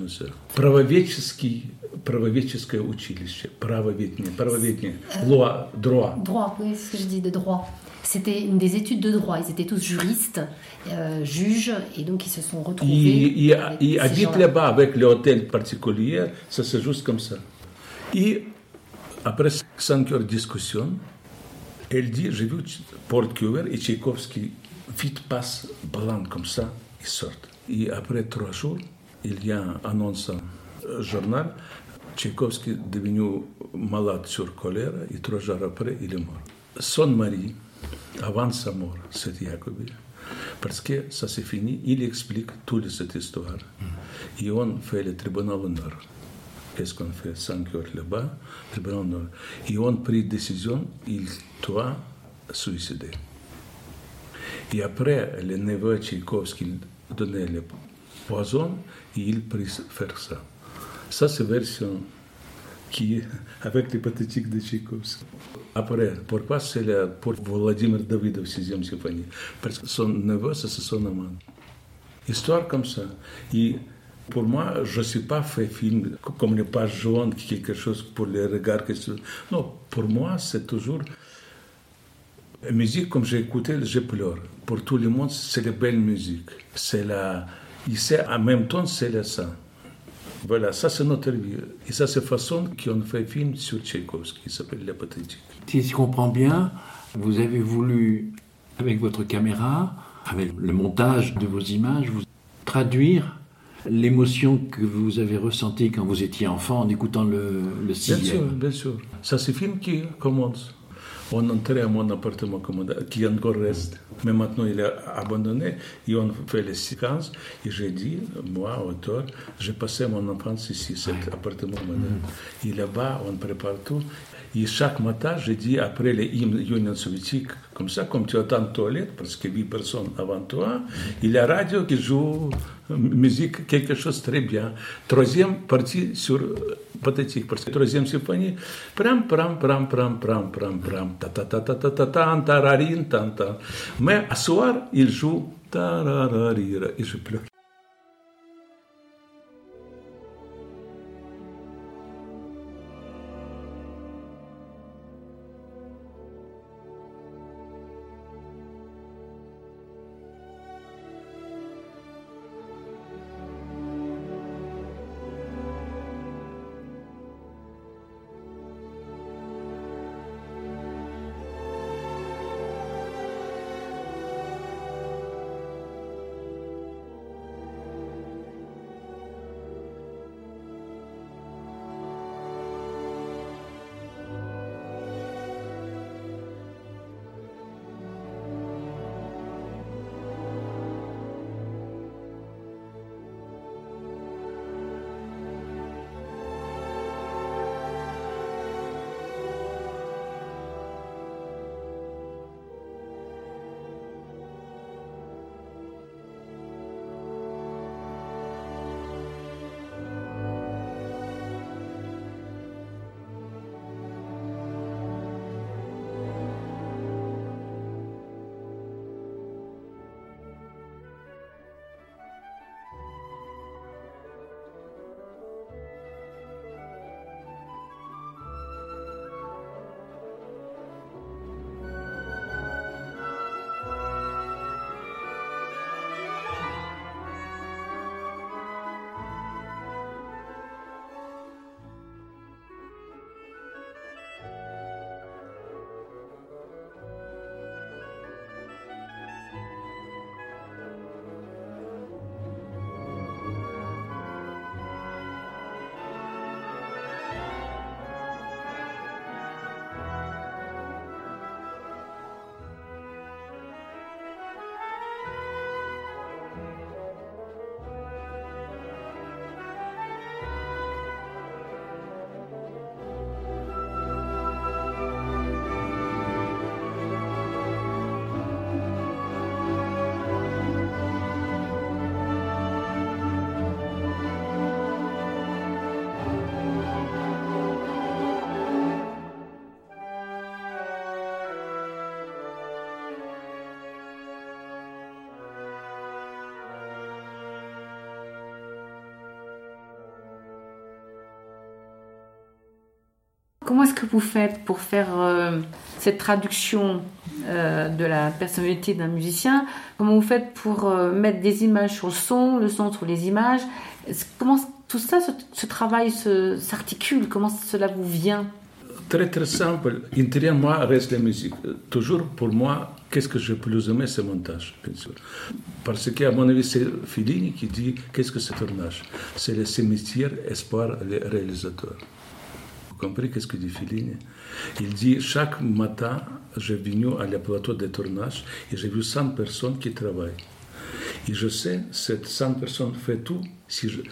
Правоведческое училище, правоведение, loi, droit. Droit, oui, c'est ce que je dis, de droit. C'était une des études de droit. Ils étaient tous juristes, juges, et donc ils se sont retrouvés. Et habitent là-bas avec l'hôtel particulier, ça c'est juste comme ça. Et après 5 heures de discussion, elle dit, j'ai vu porte ouverte et Tchaïkovski vite passe blanc comme ça, ils sortent. Et après 3 jours, il y a une annonce au journal, Tchaïkovski est devenu malade sur choléra et 3 jours après, il est mort. Son mari, avant sa mort, c'est Jacobi, parce que ça s'est fini, il explique toute cette histoire. Et on fait le tribunal d'honneur. Qu'est-ce qu'on fait? 5 heures là-bas, tribunal d'honneur. Et on prit décision, il doit suicider. Et après, le neveu Tchaïkovski donnait le poison et il prit faire ça. Ça, c'est la version qui est avec les pathétiques de Tchaïkovski. Après, pourquoi c'est pour Vladimir Davidov, 6e symphonie? Parce que son neveu, c'est son amant. Histoire comme ça. Et pour moi, je ne suis pas fait film comme les pages jaunes, quelque chose pour les regards. Non, pour moi, c'est toujours... La musique, comme j'ai écouté, je pleure. Pour tout le monde, c'est la belle musique. C'est en même temps, c'est le sang. Voilà, ça c'est notre vie. Et ça c'est la façon qu'on fait un film sur Tchaïkovski, qui s'appelle La Pathétique. Si je comprends bien, vous avez voulu, avec votre caméra, avec le montage de vos images, vous traduire l'émotion que vous avez ressentie quand vous étiez enfant en écoutant le sixième. Bien sûr. Ça c'est un film qui commence. On entrait à mon appartement qui encore reste. Mais maintenant, il est abandonné. Et on fait les séquences. Et j'ai dit, moi, auteur, j'ai passé mon enfance ici, cet appartement moderne. Et là-bas, on prépare tout. Et chaque matin, j'ai dit, après les hymnes Union soviétique, comme ça, comme tu attends en toilette, parce que 8 personnes avant toi, il y a la radio qui joue musique, quelque chose de très bien. 3e partie sur pathétique, parce que 3e symphonie, pram, pram, pram, pram, pram, pram, pram, ta ta ta ta ta ta ta, tararin, ta ta. Mais à soir, il joue tarararira, et je pleure. Comment est-ce que vous faites pour faire cette traduction de la personnalité d'un musicien? Comment vous faites pour mettre des images sur le son sur les images? Comment tout ça, ce travail s'articule? Comment cela vous vient? Très très simple. Intérieur moi reste la musique. Toujours pour moi, qu'est-ce que j'ai plus aimé, c'est le montage, bien sûr. Parce qu'à mon avis, c'est Fellini qui dit qu'est-ce que c'est le tournage. C'est le cimetière espoir les réalisateurs. Vous comprenez qu'est-ce que dit Fellini? Il dit chaque matin, j'ai venu à le plateau de tournage et j'ai vu 100 personnes qui travaillent. Et je sais, ces 100 personnes font tout. Si je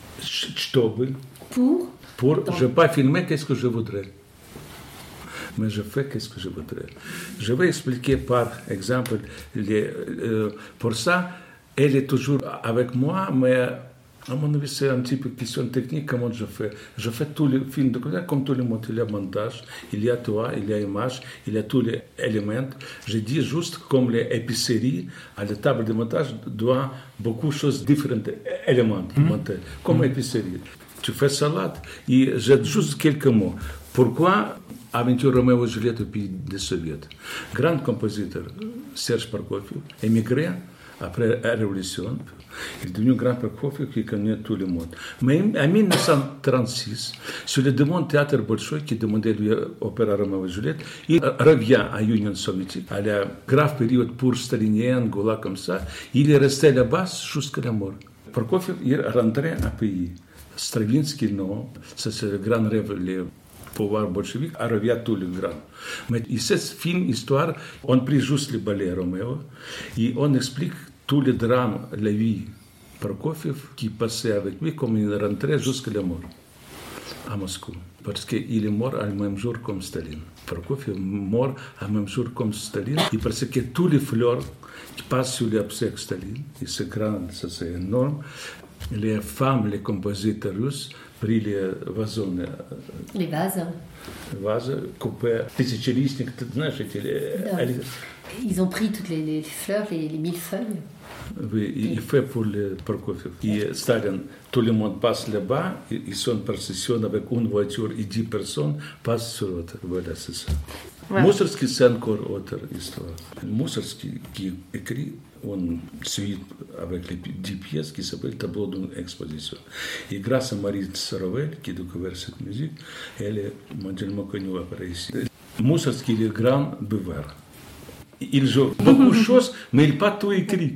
je ne vais pas filmer qu'est-ce que je voudrais. Mais je fais qu'est-ce que je voudrais. Je vais expliquer par exemple, pour ça, elle est toujours avec moi, mais à mon avis, c'est un petit peu question technique, comment je fais. Je fais tous les films de comédie, comme tout le monde. Il y a montage, il y a toi, il y a image, il y a tous les éléments. Je dis juste comme les épiceries, à la table de montage, doit beaucoup de choses différentes, éléments monter, comme épicerie. Tu fais salade, et j'ai juste quelques mots. Pourquoi Aventure Roméo et Juliette au pays des Soviets? Grand compositeur, Serge Prokofiev, émigré après la Révolution. Il est devenu grand Prokofiev qui connaît tout le monde. Mais en 1936, sur le demande théâtre Bolchoï qui demandait lui opéra Roméo et Juliette, il revient à l'Union soviétique, à la grave période pour stalinien, Goulag comme ça. Il est resté là-bas jusqu'à la mort. Prokofiev est rentré à pays. Stravinsky, non, ça c'est le grand rêve, le pouvoir bolchevique, revient tout le grand. Mais ce film, histoire, on prit juste le ballet Roméo et on explique tous les drames, la vie Prokofiev qui passait avec lui comme il rentrait jusqu'à la mort à Moscou. Parce qu'il est mort le même jour comme Staline. Prokofiev est mort le même jour comme Staline et parce que tous les fleurs qui passent sur les obsèques Staline, et c'est grand, ça c'est énorme. Les femmes, les compositeurs russes, pris les vazons. Les vases. Les vases coupés. Ils ont pris toutes les fleurs, les millefeuilles. Oui, il fait pour le Prokofiev. Et Staline, tout le monde passe là-bas, ils sont par session avec une voiture et 10 personnes passent sur l'autre. Voilà, c'est ça. Ouais. Moussorgsky, c'est encore autre histoire. Moussorgsky qui écrit une suite avec les 10 pièces qui s'appelle Tableau d'une exposition. Et grâce à Marie Sorovel, qui a découvert cette musique, elle est mondialement connue après ici. Moussorgsky est grand buveur. Il joue beaucoup de choses, mais il n'a pas tout écrit.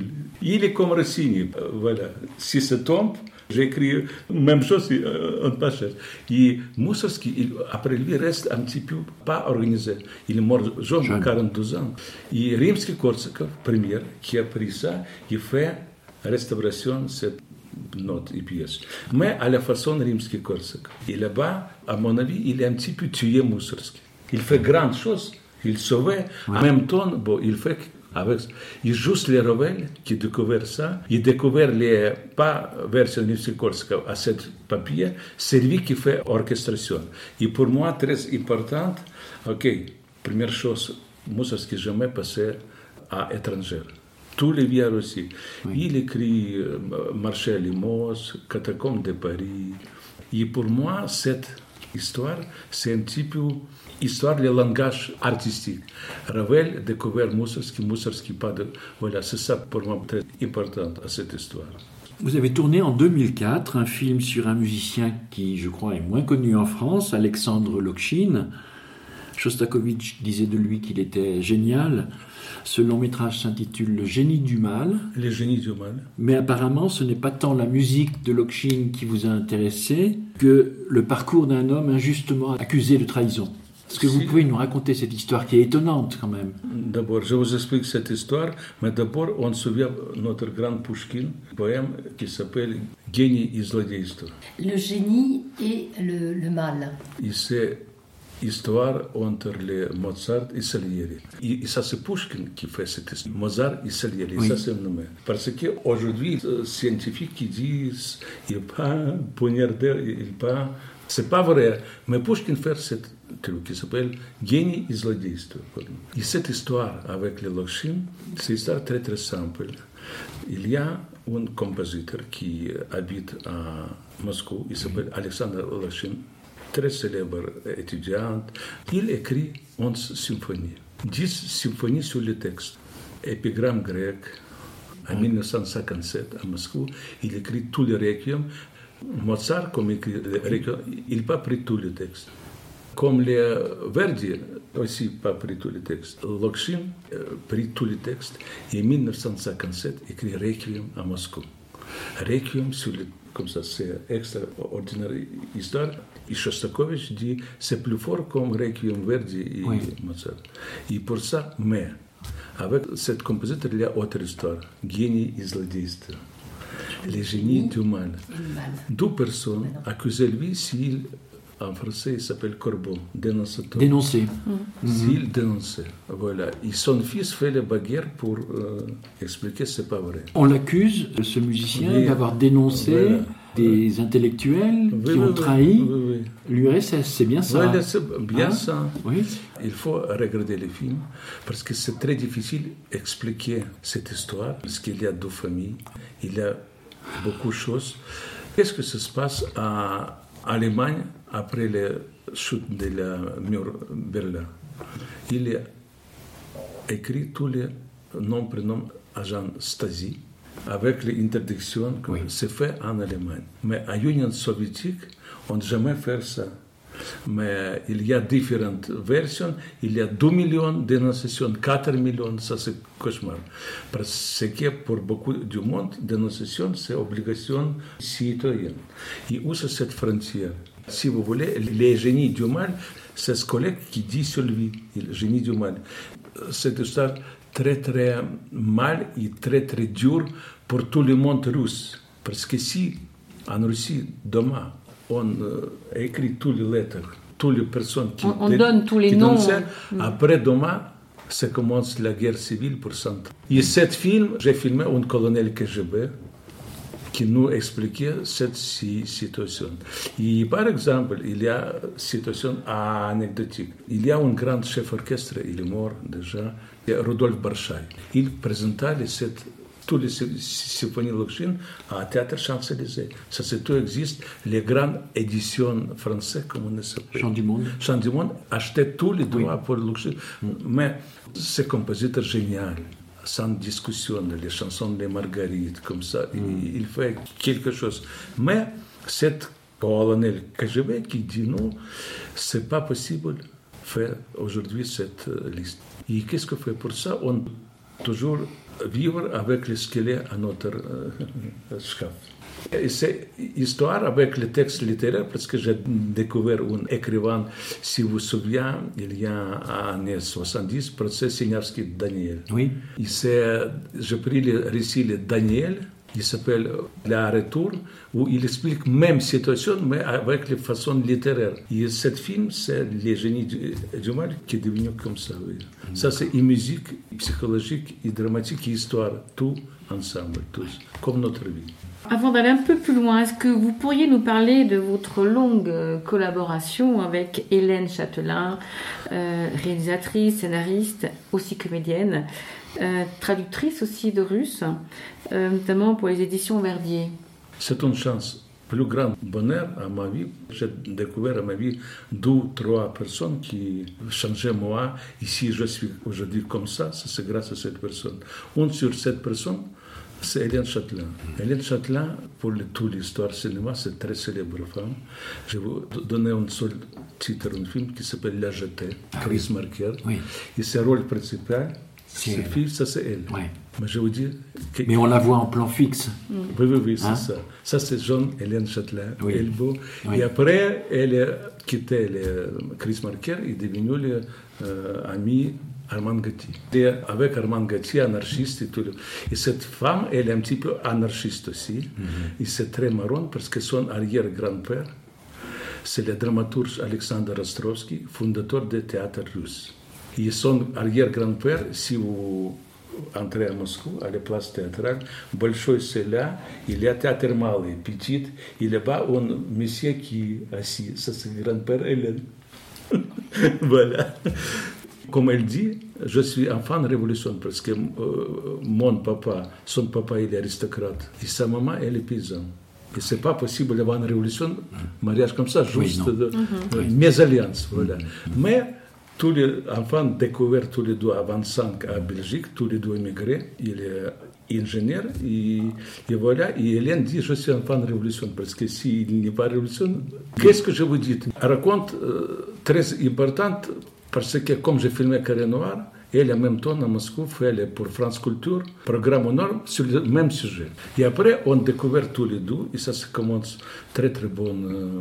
Il est comme Rossini. Voilà. Si ça tombe, j'écris même chose, on ne pas chercher. Et Moussorgsky, après lui, reste un petit peu pas organisé. Il est mort jeune, 42 ans. Et Rimsky-Korsakov, premier, qui a pris ça, il fait restauration de cette note et pièce. Mais à la façon Rimsky-Korsakov. Et là-bas, à mon avis, il est un petit peu tué Moussorgsky. Il fait grandes choses. Il sauvait. En même temps, bon, il fait avec. Il juste les Ravel qui découvert ça. Il découvert les pas version Rimsky-Korsakov à ce papier. C'est lui qui fait orchestration. Et pour moi, très importante. Ok, première chose, Moussorgsky jamais passé à l'étranger. Tous les vieux aussi. Oui. Il écrit Marché à Limoges, Catacombes de Paris. Et pour moi, cette histoire, c'est un petit peu histoire du langage artistique. Ravel a découvert Moussorgsky pas de... Voilà, c'est ça pour moi très important à cette histoire. Vous avez tourné en 2004 un film sur un musicien qui, je crois, est moins connu en France, Alexandre Lokchine. Shostakovich disait de lui qu'il était génial. Ce long métrage s'intitule Le génie du mal. Le génie du mal. Mais apparemment, ce n'est pas tant la musique de Lokchine qui vous a intéressé que le parcours d'un homme injustement accusé de trahison. Est-ce que vous pouvez nous raconter cette histoire qui est étonnante quand même? D'abord, je vous explique cette histoire, mais d'abord, on se souvient de notre grand Pouchkine, poème qui s'appelle « Génie et zlodейство ». Le génie et le mal. Et c'est histoire entre les Mozart et Salieri. Et ça, c'est Pouchkine qui fait cette histoire. Mozart et Salieri, oui. Ça c'est nommé. Parce qu'aujourd'hui, les scientifiques qui disent qu'il n'est pas poignardé, il n'est pas... C'est pas vrai. Mais Pouchkine fait cette truc qui s'appelle Génie et zlodейство. Et cette histoire avec les Lokchine, c'est une histoire très très simple. Il y a un compositeur qui habite à Moscou, il s'appelle Alexandre Lokchine. très célèbre étudiant. Il écrit 11 symphonies, 10 symphonies sur le texte. Épigramme grec, en 1957, à Moscou, il écrit tous les requiem. Mozart, comme écrit les requiem, il n'a pas pris tous les textes. Comme les Verdi, aussi pas pris tous les textes. Lokhin pris tous les textes et en 1957 écrit Requiem à Moscou. Requiem sur le, comme ça, c'est extraordinaire histoire. Et Shostakovich dit c'est plus fort comme Requiem Verdi et Mozart. Et pour ça, mais avec cette compositeur, il y a autre histoire. Génie et zlodейство. Les génies du mal. Deux personnes accusaient lui s'il, en français, il s'appelle corbeau, dénonciateur. Dénoncé. S'il dénonçait. Voilà. Et son fils fait la bagarre pour expliquer que ce n'est pas vrai. On l'accuse, ce musicien, d'avoir dénoncé des intellectuels qui ont trahi l'URSS. C'est bien ça. Voilà, c'est bien ça. Oui. Il faut regarder les films parce que c'est très difficile d'expliquer cette histoire parce qu'il y a deux familles, il y a beaucoup de choses. Qu'est-ce que ça se passe en Allemagne après la chute de la mur Berlin? Il a écrit tous les noms, prénoms agents Stasi avec l'interdiction que c'est fait en Allemagne. Mais en Union soviétique, on n'a jamais fait ça. Mais il y a différentes versions. Il y a 2 millions de dénonciations, 4 millions, ça c'est cauchemar. Parce que pour beaucoup du monde, dénonciation, c'est obligation citoyenne. Et où c'est cette frontière? Si vous voulez, les génies du mal, c'est ce collègue qui dit sur lui, le génie du mal. Cette histoire très très mal et très très dur pour tout le monde russe. Parce que si en Russie, demain, on écrit toutes les lettres, toutes les personnes qui donne tous les noms. Après demain, ça commence la guerre civile pour 100 ans. Et cet film, j'ai filmé un colonel KGB qui nous expliquait cette situation. Et par exemple, il y a une situation anecdotique. Il y a un grand chef orchestre, il est mort déjà, Rudolf Barchaï. Il présentait toutes les symphonies Lokhin à Théâtre Champs-Élysées. Ça, c'est tout existe. Les grandes éditions françaises, comme on s'appelle. Chant du Monde. Chant du Monde achetaient tous les droits pour Lokhin. Mais c'est un compositeur génial, sans discussion, les chansons de Marguerite, comme ça. Il fait quelque chose. Mais cette colonel KGB qui dit non, c'est pas possible de faire aujourd'hui cette liste. Et qu'est-ce qu'on fait pour ça? On toujours vivre avec le squelette à notre chef. Et c'est histoire avec le texte littéraire parce que j'ai découvert un écrivain, si vous vous souvenez, il y a en années 70, procès Signavski Daniel. Oui. J'ai pris le récit de Daniel, il s'appelle La Retour, où il explique même situation, mais avec les façons littéraires. Et ce film, c'est Les génies du mal qui est devenu comme ça. Oui. Ça, c'est et musique, et psychologique, et dramatique, et histoire, tout ensemble, tous, comme notre vie. Avant d'aller un peu plus loin, est-ce que vous pourriez nous parler de votre longue collaboration avec Hélène Châtelain, réalisatrice, scénariste, aussi comédienne, traductrice aussi de russe, notamment pour les éditions Verdier? C'est une chance. Plus grand bonheur à ma vie. J'ai découvert à ma vie 2 ou 3 personnes qui changeaient moi. Ici, je suis aujourd'hui comme ça, c'est grâce à cette personne. Une sur cette personne, c'est Hélène Châtelain. Hélène Châtelain, pour toute l'histoire cinéma, c'est une très célèbre femme. Je vais vous donner un seul titre, un film qui s'appelle La Jetée, Chris Marker. Oui. Et ce rôle principal, c'est fille, ça c'est elle. Oui. Mais je vous dis... Mais on la voit en plan fixe. Oui, c'est ça. Ça, c'est jeune Hélène Châtelain. Oui. Elle beau. Oui. Et après, elle a quitté Chris Marker et est devenue l'amie Armand Gatti. Et avec Armand Gatti, anarchiste et tout. Et cette femme, elle est un petit peu anarchiste aussi. Et c'est très marrant parce que son arrière-grand-père, c'est le dramaturge Alexandre Rostrovski, fondateur du théâtre russe. Et son arrière-grand-père, si vous entrez à Moscou, à la place théâtrale, большой c'est là, il y a théâtre malé, petit, il y a là un monsieur qui est assis, ça c'est le grand-père Hélène. Voilà. Comme elle dit, je suis enfant de révolution parce que mon papa, son papa il est aristocrate et sa maman elle est paysanne. Et c'est pas possible avant la révolution, mariage comme ça, juste Oui, mésalliance, voilà. Mais tous les enfants découverts tous les deux à 25 à Belgique, tous les deux immigrés, il est ingénieur, et voilà, et Hélène dit, je suis enfant de révolution, parce que s'il n'y a pas de révolution, qu'est-ce que je vous dis? Elle raconte très importante, parce que comme j'ai filmé Carré Noir, elle, en même temps, à Moscou, fait pour France Culture, programme au Nord, sur le même sujet. Et après, on découvert tous les deux, et ça commence très, très bon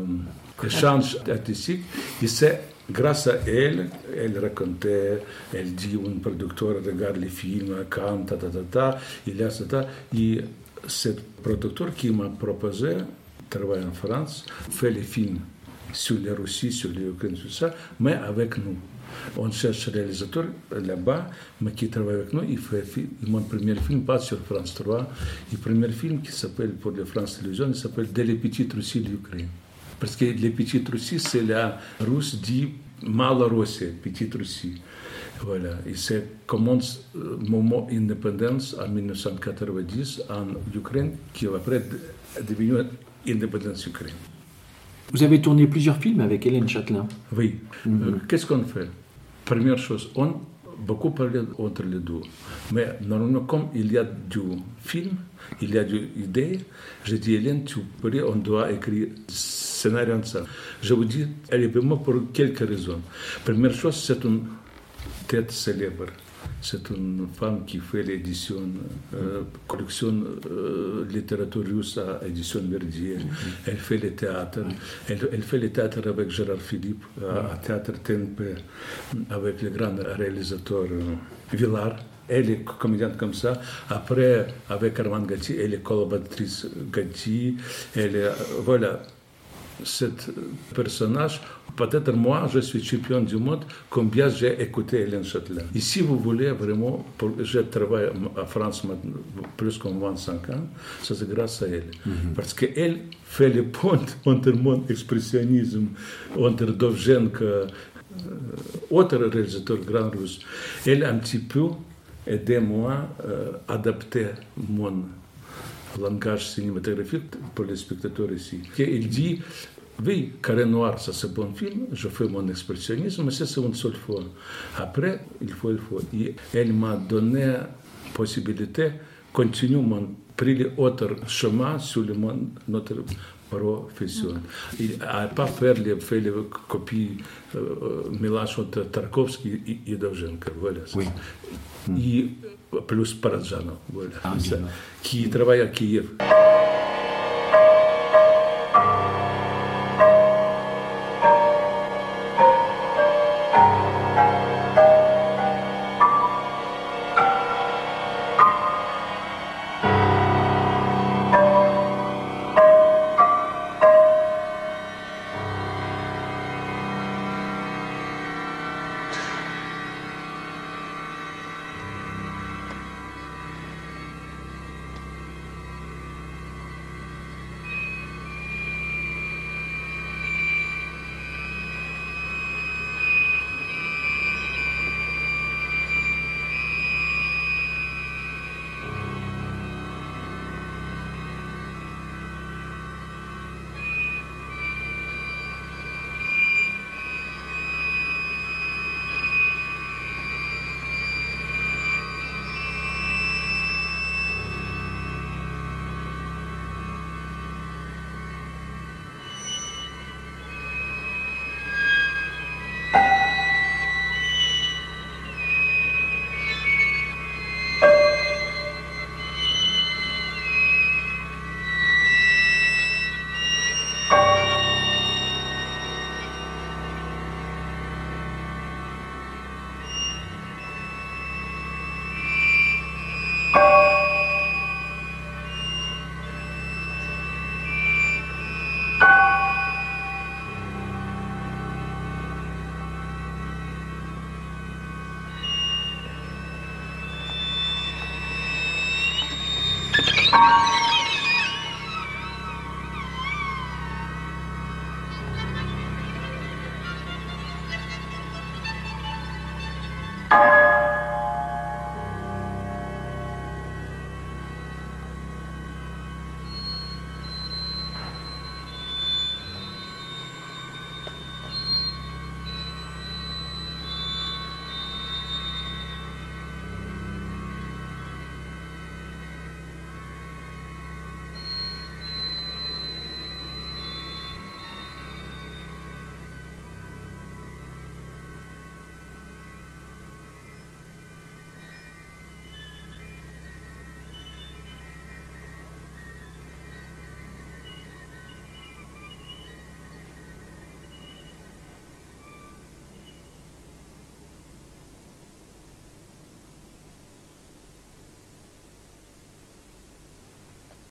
échange artistique. Et c'est grâce à elle, elle racontait, elle dit, un producteur regarde les films, quand, il y a ça, et ce producteur qui m'a proposé, travaille en France, fait les films sur la Russie, sur l'Ukraine, tout ça, mais avec nous. On cherche un réalisateur là-bas, mais qui travaille avec nous. Il fait mon premier film, pas sur France 3. Le premier film qui s'appelle, pour la France Télévisions, il s'appelle « Dès les petites Russies de l'Ukraine ». Parce que les petites Russies, c'est la Russe dit Malorussie, petite Russie. Voilà. Et c'est commence le moment d'indépendance en 1990 en Ukraine, qui après est devenu indépendance Ukraine. Vous avez tourné plusieurs films avec Hélène Châtelain. Oui. Qu'est-ce qu'on fait? Première chose, on beaucoup parlé entre les deux. Mais normalement, comme il y a du film, il y a des idées, j'ai dit, Hélène, on doit écrire scénario ensemble. Je vous dis, elle est vraiment pour quelques raisons. Première chose, c'est une tête célèbre. C'est une femme qui fait l'édition, collection littérature russe à édition Verdier. Elle fait le théâtre. Elle fait le théâtre avec Gérard Philippe, à Théâtre TNP, avec le grand réalisateur Villard. Elle est comédienne comme ça. Après, avec Armand Gatti, elle est collaboratrice Gatti. Elle est, voilà, cet personnage. Peut-être moi, je suis champion du monde, combien j'ai écouté Hélène Châtelain. Et si vous voulez vraiment, je travaille en France plus que 25 ans, ça c'est grâce à elle. Parce qu'elle fait le pont entre mon expressionnisme, entre Dovzhenko, autre réalisateur grand russe. Elle a un petit peu aidé moi à adapter mon langage cinématographique pour les spectateurs ici. Et il dit, oui, Carré Noir, ça c'est un bon film, je fais mon expressionnisme, mais c'est une seule fois. Après, il faut. Et elle m'a donné la possibilité de continuer pris l'autre chemin sur notre profession. Il n'a pas fait les copies, mélange entre Tarkovsky et Dovzhenko. Voilà. Oui. Et plus Parajanov, voilà, qui travaille à Kiev.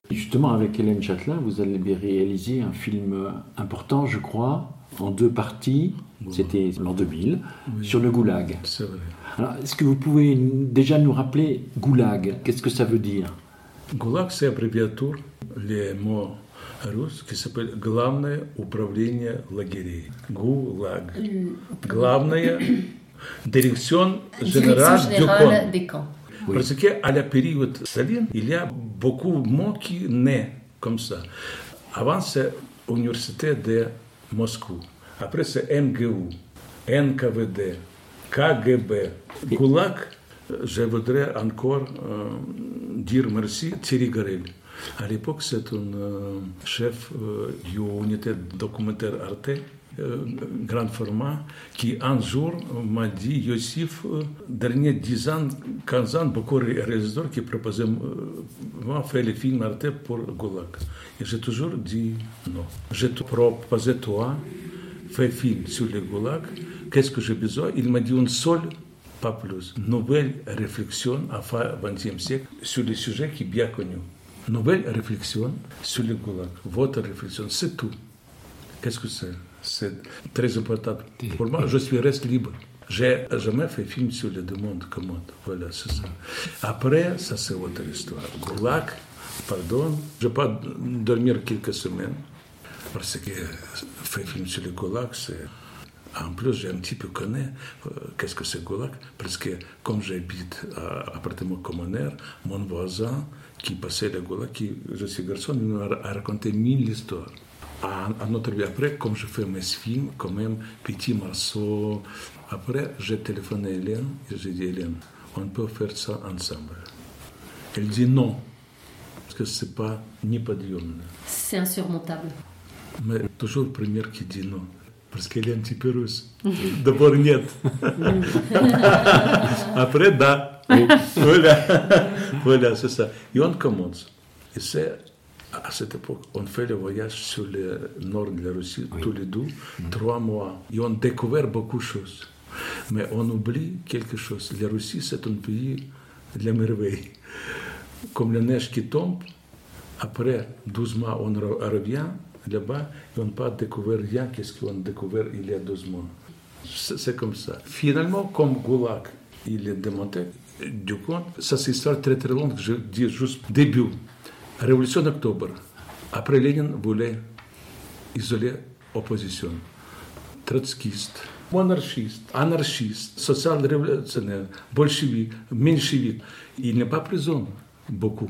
Justement, avec Hélène Châtelain, vous allez réaliser un film important, je crois, en 2 parties. C'était l'an 2000, sur le goulag. C'est vrai. Alors, est-ce que vous pouvez déjà nous rappeler goulag? Qu'est-ce que ça veut dire? Гулаг – c'est аббревиатура, les mots russes qui s'appelle Главное управление лагерей. Гулаг. Главное Direction générale des camps. Oui. Parce qu'à la période Staline, il y a beaucoup de mots qui naissent comme ça. Avant, c'est l'université de Moscou. Après, c'est MGU, NKVD, KGB, Gulag. Je voudrais encore dire merci Thierry Garel. À l'époque, c'est un chef de l'unité documentaire Arte, grand format, qui un jour m'a dit, Yossif, derniers 10 ans, 15 ans, beaucoup de réalisateurs qui proposaient moi faire les films Arte pour Gulag. Et j'ai toujours dit non. Je te proposais toi, fais film sur le Gulag, qu'est-ce que j'ai besoin? Il m'a dit une seule, pas plus. Nouvelle réflexion à fin XXe siècle sur le sujet qui est bien connu. Nouvelle réflexion sur le Gulag. Votre réflexion, c'est tout. Qu'est-ce que c'est? C'est très important. Pour moi, je suis reste libre. J'ai jamais fait film sur les deux mondes communs. Voilà, c'est ça. Après, ça c'est autre histoire. Gulag, pardon, je peux pas dormir quelques semaines parce que faire film sur le Gulag, c'est... En plus, j'ai un petit peu connu qu'est-ce que c'est Gulag, parce que comme j'habite à appartement communautaire, mon voisin qui passait le Gulag, je suis garçon, il m'a raconté 1000 histoires. À notre vie, après, comme je fais mes films, quand même, petit morceau. Après, j'ai téléphoné à Hélène et j'ai dit, Hélène, on peut faire ça ensemble. Elle dit non, parce que c'est pas ni pas Dieu. C'est insurmontable. Mais toujours première qui dit non. Parce qu'elle est un petit peu russe. D'abord, нет. Après, да. Voilà, c'est ça. Et on commence. Et c'est, à cette époque, on fait le voyage sur le nord de la Russie, tous les deux, 3 mois. Et on découvre beaucoup de choses. Mais on oublie quelque chose. La Russie, c'est un pays de la merveille. Comme la neige qui tombe, après 12 mois, on revient là-bas, et on n'a pas découvert rien, qu'est-ce qu'on a découvert il y a 12 mois. C'est comme ça. Finalement, comme Gulag, il est démonté, du coup, ça c'est une histoire très très longue, je dis juste début. Révolution d'octobre. Après, Lénine voulait isoler l'opposition. Trotskiste, monarchiste, anarchiste, social-révolutionnaire, bolchevique, menchevique. Il n'est pas prison, beaucoup.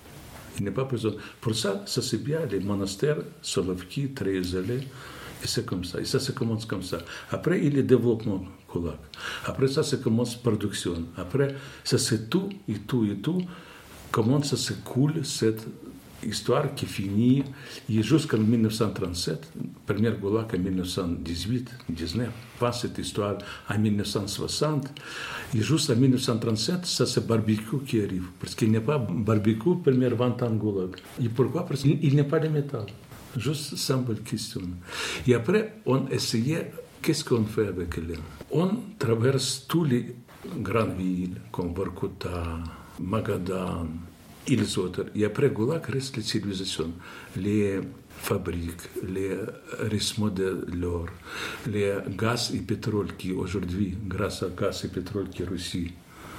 Il n'est pas présent. Pour ça, ça c'est bien, les monastères, Solovki, très isolés, et c'est comme ça. Et ça commence comme ça. Après, il y a le développement, Gulag. Après ça commence la production. Après, ça c'est tout, et tout, et tout. Comment ça se coule, cette histoire qui finit jusqu'en 1937, première Gulag en 1918, 19. Pas cette histoire en 1960. Et juste en 1937, ça c'est barbecue qui arrive. Parce qu'il n'y a pas barbecue, première 20 ans Gulag. Et pourquoi? Parce qu'il n'y a pas de métal. Juste simple question. Et après, on essayait, qu'est-ce qu'on fait avec Hélène? On traverse toutes les grandes villes, comme Vorkuta, Magadan, et les autres. Et après Gulag reste les civilisations, les fabriques, les rissements de l'or, les gaz et pétrole qui aujourd'hui, grâce à gaz et pétrole qui est Russie,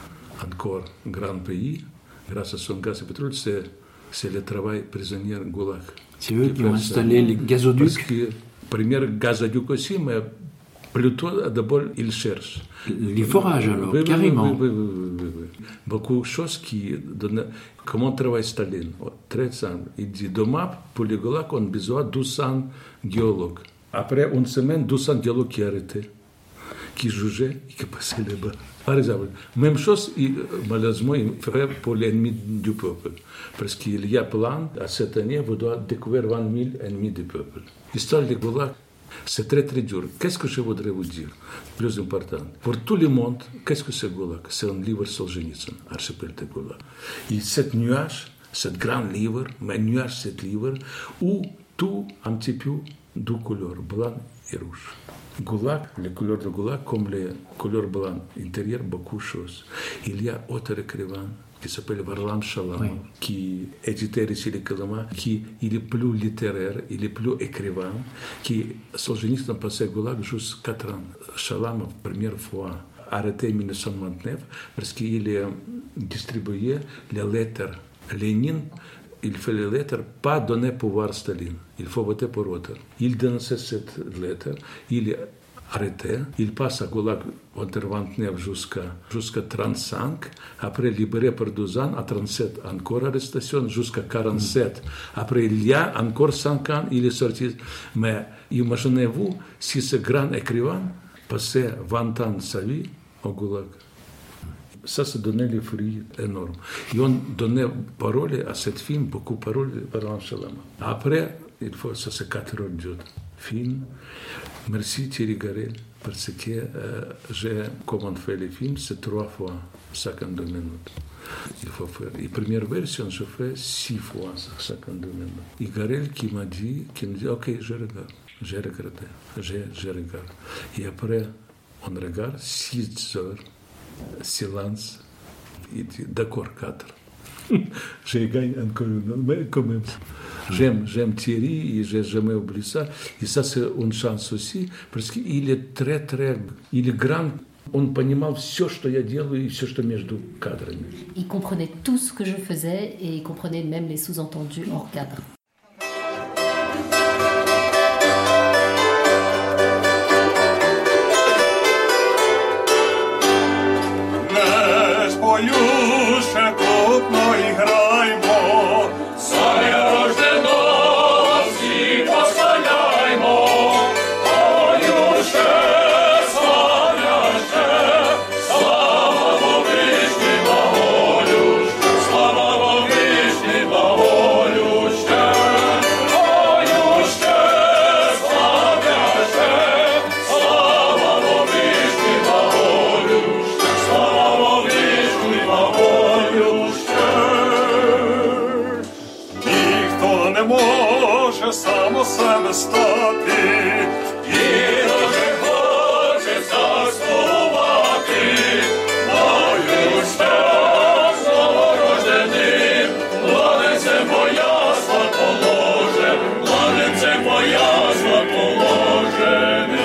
encore grand pays, grâce à son gaz et pétrole, c'est le travail prisonnier Gulag. C'est eux qui ont installé les gazoducs. Parce que premier gazoduc aussi, mais plutôt d'abord ils cherchent. Les forages alors, carrément. Oui. Beaucoup de choses qui donnent... Comment travaille Staline? Très simple. Il dit, demain, pour les Gulag, on a besoin de 200 géologues. Après une semaine, 200 géologues qui arrêtaient, qui jugeaient et qui passaient là-bas. Par exemple, même chose, malheureusement, il ferait pour l'ennemi du peuple. Parce qu'il y a plein, à cette année, vous devez découvrir 20 000 ennemis du peuple. L'histoire des Gulag, c'est très très dur. Qu'est-ce que je voudrais vous dire? Plus important. Pour tout le monde, qu'est-ce que c'est Gulag? C'est un livre Solzhenitsyn, Archipel de Gulag. Et cet nuage, ce grand livre, mais nuage, cet livre, où tout un petit peu deux couleurs, blanc et rouge. Gulag, les couleurs de Gulag, comme les couleurs blanches intérieures, beaucoup de choses. Il y a autre écrivain qui s'appelle Varlam Shalamov, qui est éditeur ici le Kalama, qui il est plus littéraire, il est plus écrivain, qui Solzhenitsyn a passé au Goulag juste 4 ans. Shalamov, première fois, arrêté en 1929 parce qu'il a distribué les lettres Lénine. Il fait les lettres, pas donner pouvoir à Staline. Il faut voter pour l'autre. Il dénonçait cette lettre, il est arrêté, il passe à Goulag entre 29 jusqu'à 35, après libéré pour 12 ans, à 37 encore arrestation, jusqu'à 47. Après il y a encore 5 ans, il est sorti. Mais imaginez-vous si ce grand écrivain passait 20 ans de sa vie au Goulag. Ça donnait les fruits énormes. Et on donnait parole à cette film, beaucoup de paroles par Shalamov. Après, il faut, ça c'est 4 heures de film. Merci Thierry Garel, parce que j'ai, comme on fait les films, c'est 3 fois 52 minutes. Il faut faire. La première version, je fais 6 fois 52 minutes. Et Garel qui me dit, ok, je regarde. J'ai regardé, je regarde. Et après, on regarde 6 heures. Silence. Il dit, d'accord, 4. J'ai gagné encore une, mais quand même. J'aime Thierry et je n'ai jamais oublié ça. Et ça, c'est une chance aussi, parce qu'il est il est grand. Он понимал все, что я делаю, и все, что между кадрами. Il comprenait tout ce que je faisais et il comprenait même les sous-entendus hors cadre. Само себе стати, і дуже хоче заспівати, мою щас новорожденим, младенце моя слаположе, младенце моя слаположений.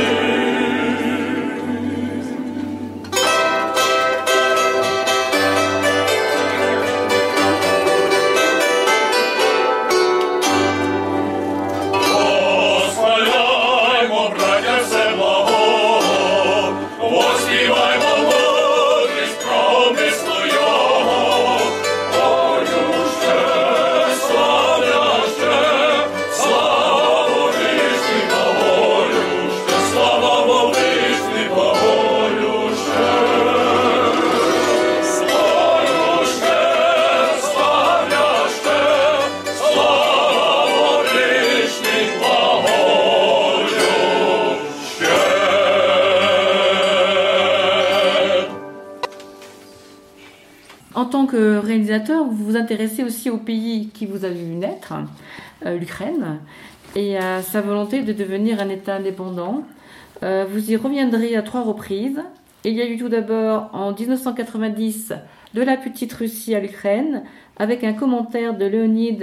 En tant que réalisateur, vous vous intéressez aussi au pays qui vous a vu naître, l'Ukraine, et à sa volonté de devenir un État indépendant. Vous y reviendrez à 3 reprises. Il y a eu tout d'abord en 1990 de la petite Russie à l'Ukraine, avec un commentaire de Leonid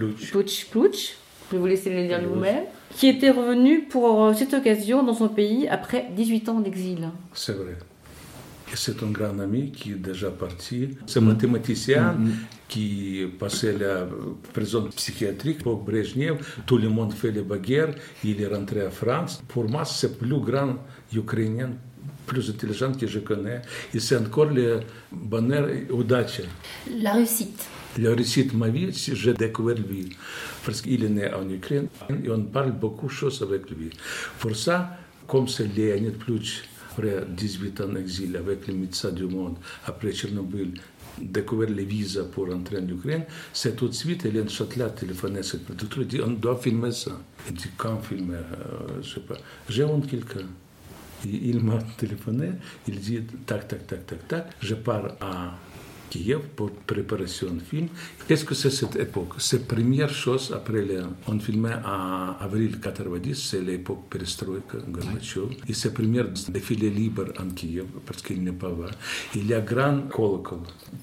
Plouch, je vais vous laisser le dire vous-même, qui était revenu pour cette occasion dans son pays après 18 ans d'exil. C'est vrai. Et c'est un grand ami qui est déjà parti. C'est un mathématicien qui passait la prison psychiatrique pour Brezhnev. Tout le monde fait les bagarres. Il est rentré en France. Pour moi, c'est le plus grand Ukrainien, plus intelligent que je connais. Et c'est encore le bonheur et l'audace. La réussite. La réussite de ma vie, si j'ai découvert lui. Parce qu'il est né en Ukraine et on parle beaucoup de choses avec lui. Pour ça, comme c'est Leonid Plouch, après 18 ans d'exil avec les médecins du monde, après Tchernobyl, découvert les visas pour entrer en Ukraine, c'est tout de suite Hélène Châtelet a téléphoné à cette productrice, dit on doit filmer ça. Il dit quand filmer, je ne sais pas. J'ai honte quelqu'un. Il m'a téléphoné, il dit tac, tac, tac, tac, tac, je pars à Kiev pour préparation de film. Qu'est-ce que c'est cette époque? C'est la première chose après on filmait en avril 90, c'est l'époque Perestroïka, Gorbatchev. Et c'est le premier défilé libre en Kiev, parce qu'il n'est pas là. Il y a grand colocol,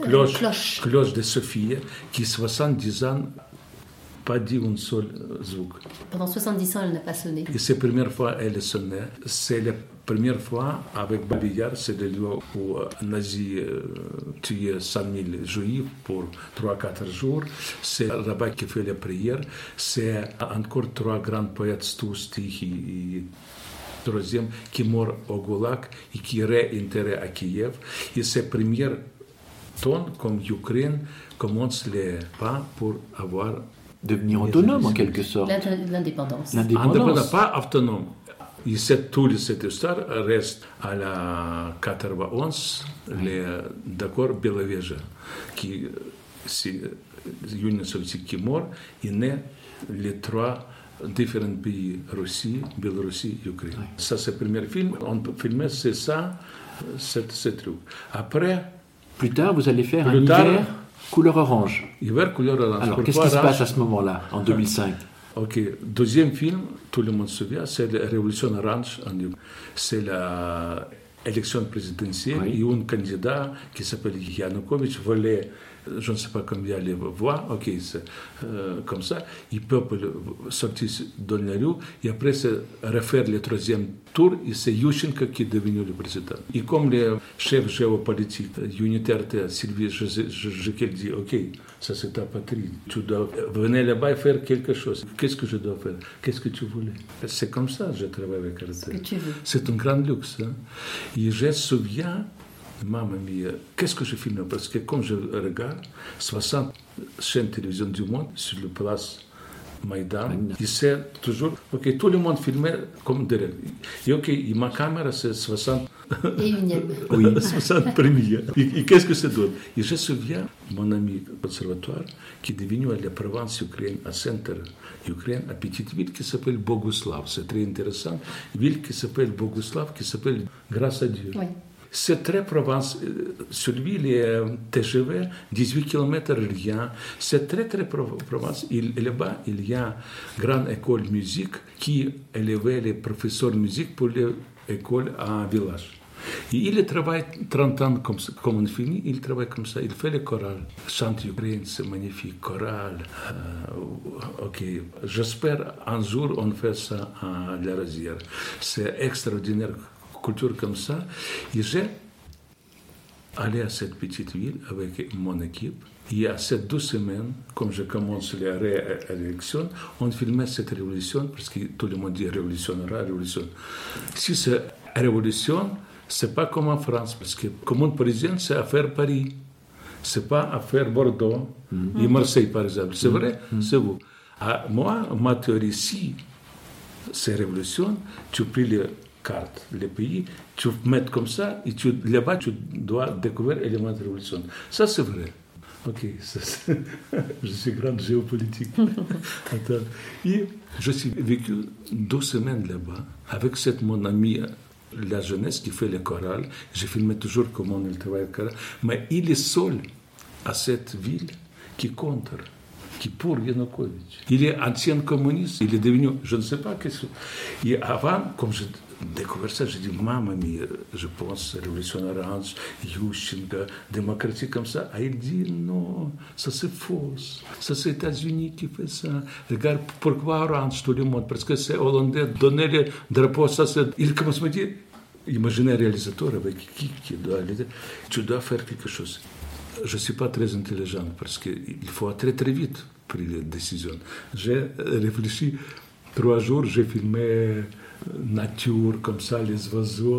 cloche de Sofia, qui 70 ans pas dit un seul звук. Pendant 70 ans, elle n'a pas sonné. Et c'est la première fois qu'elle sonnait. C'est la première fois avec Babillard, c'est le lieu où les nazis tuaient 100 000 juifs pour 3-4 jours. C'est là-bas qui fait la prière. C'est encore 3 grands poètes, Stous, Tichy et troisième, qui meurent au Goulag et qui réintérrent à Kiev. Et c'est le premier ton comme l'Ukraine commence les pas pour avoir devenir autonome en quelque sorte. L'indépendance. Indépendance, pas autonome. Et cette histoire reste à la 91, d'accord Beloveja, qui c'est l'Union soviétique qui est mort, et naît les 3 différents pays, Russie, Biélorussie, Ukraine. Oui. Ça, c'est le premier film. On filmait, c'est ça, ce truc. Après... Plus tard, vous allez faire un hiver couleur orange. Hiver couleur orange. Alors, qu'est-ce qui se passe à ce moment-là, en 2005? Ok, deuxième film, tout le monde se souvient, c'est la Révolution orange en Ukraine. C'est l'élection présidentielle et un candidat qui s'appelle Yanukovych voulait, je ne sais pas combien les voix, ok, c'est comme ça, le peuple sortit dans la rue et après c'est refaire le 3e tour et c'est Yushchenko qui est devenu le président. Et comme le chef géopolitique unitaire Sylvie Jekyll dit, ok, ça c'est ta patrie, tu dois venir là-bas et faire quelque chose. Qu'est-ce que je dois faire? Qu'est-ce que tu voulais? C'est comme ça que je travaille avec Arte. C'est un grand luxe. Hein? Et je me souviens, maman mia, qu'est-ce que je filme? Parce que comme je regarde, 60 chaînes de télévision du monde sur la place Maïdan, et c'est toujours, ok, tout le monde filmait comme derrière. Et ok, et ma caméra c'est 60. Et unième. Oui, 60 premiers. Et qu'est-ce que ça donne? Et je me souviens, mon ami conservatoire, qui est devenu à la province ukrainienne, à centre Ukraine, à petite ville qui s'appelle Boguslav. C'est très intéressant. Une ville qui s'appelle Boguslav, qui s'appelle Grâce à Dieu. Oui. C'est très province. Sur l'île est TGV, 18 km rien. C'est très, très province. Et là-bas, il y a une grande école de musique qui élevait les professeurs de musique pour l'école à village. Et il travaille 30 ans comme on finit, il travaille comme ça, il fait les chorales. Chante Ukraine, c'est magnifique, chorale. Ok, j'espère un jour on fait ça à La Rosière. C'est extraordinaire, culture comme ça. Et j'ai allé à cette petite ville avec mon équipe. Et à ces 2 semaines, comme je commence les réélections, on filmait cette révolution, parce que tout le monde dit révolution. Si c'est révolution, c'est pas comme en France, parce que commune parisienne, c'est affaire Paris. C'est pas affaire Bordeaux et Marseille, par exemple. C'est vrai, c'est vous. Moi, ma théorie, si c'est révolution, tu prends les cartes, les pays, tu mets comme ça, et là-bas, tu dois découvrir l'élément de révolution. Ça, c'est vrai. Ok, je suis grande géopolitique. Et je suis vécu 2 semaines là-bas avec mon ami, la jeunesse qui fait les chorales. J'ai filmé toujours comment il travaille le choral. Mais il est seul à cette ville qui contre, qui pour Yanukovych. Il est ancien communiste, il est devenu, je ne sais pas qu'est-ce que... Et avant, comme je découvert ça, j'ai dit, maman mia, je pense, révolution orange, Yushchenko, démocratie comme ça. Et il dit, non, ça c'est faux. Ça c'est les États-Unis qui fait ça. Regarde, pourquoi orange tout le monde? Parce que c'est hollandais, donner le drapeau, ça c'est... Il commence à me dire, imaginez un réalisateur avec qui doit aller, tu dois faire quelque chose. Je ne suis pas très intelligent parce qu'il faut très très vite prendre les décisions. J'ai réfléchi 3 jours, j'ai filmé nature comme ça, les oiseaux,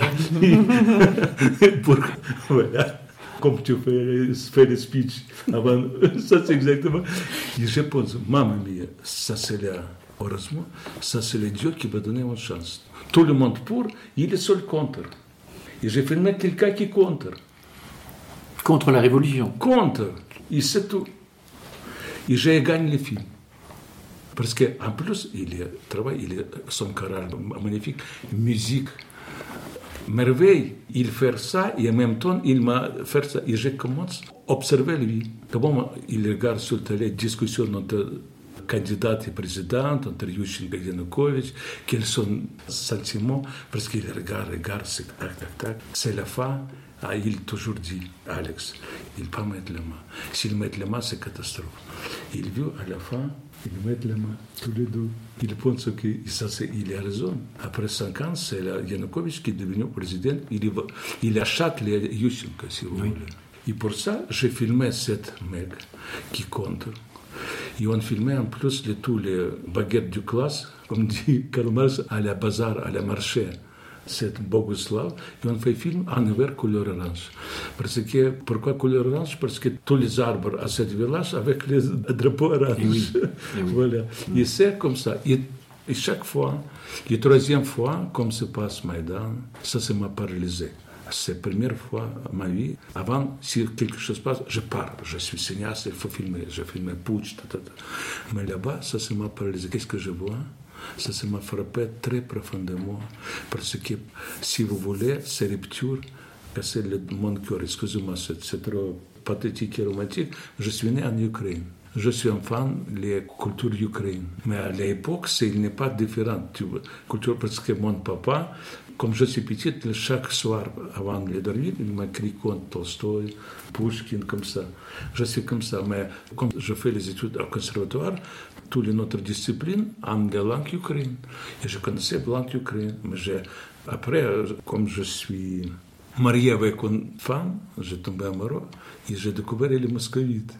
voilà. Comme tu fais le speech avant, ça c'est exactement. Et je pense, maman mia, ça c'est heureusement, ça c'est le Dieu qui va donner une chance. Tout le monde pour, il est seul contre. Et j'ai filmé quelqu'un qui contre. Contre la révolution. Contre. Et c'est tout. Et j'ai gagné le film. Parce qu'en plus, il travaille, son choral magnifique, musique merveille, il fait ça et en même temps, il m'a fait ça. Et je commence à observer lui. Comment il regarde sur la télé discussion entre candidat et président, entre Yushchenko et Yanukovych, quels sont les sentiments, parce qu'il regarde, c'est tac, tac, tac. C'est la fin. Il toujours dit, Alex, il ne peut pas mettre la main. S'il met la main, c'est catastrophe. Il veut à la fin, il met la main, tous les deux. Il pense qu'il a raison. Après 5 ans, c'est Yanukovych qui est devenu président. Il achète les Yushchenko, si vous voulez. Et pour ça, j'ai filmé 7 mecs qui comptent. Et on filmait en plus tous les baguettes du classe, comme dit Karl Marx, à la bazar, à la marché. C'est Boguslav, et on fait film en hiver couleur orange. Pourquoi couleur orange? Parce que tous les arbres à cette village avec les drapeaux orange. Oui. Voilà. Et c'est comme ça. Et chaque fois, la troisième fois, comme se passe Maïdan, ça m'a paralysé. C'est la première fois dans ma vie. Avant, si quelque chose passe, je pars. Je suis cinéaste, il faut filmer. Je filme Putsch, Mais là-bas, ça m'a paralysé. Qu'est-ce que je vois? Ça m'a frappé très profondément. Parce que, si vous voulez, ces ruptures cassaient mon cœur. Excusez-moi, c'est trop pathétique et romantique. Je suis né en Ukraine. Je suis un fan de la culture ukrainienne. Mais à l'époque, il n'est pas différent. Culture, parce que mon papa, comme je suis petit, chaque soir, avant de dormir, il m'a écrit contre Tolstoï, Pushkin, comme ça. Je suis comme ça. Mais comme je fais les études au conservatoire, toutes les autres disciplines en langue ukrainienne. Et je connaissais la langue ukrainienne. Mais après, comme je suis marié avec une femme, j'ai tombé amoureux et j'ai découvert les moscovites.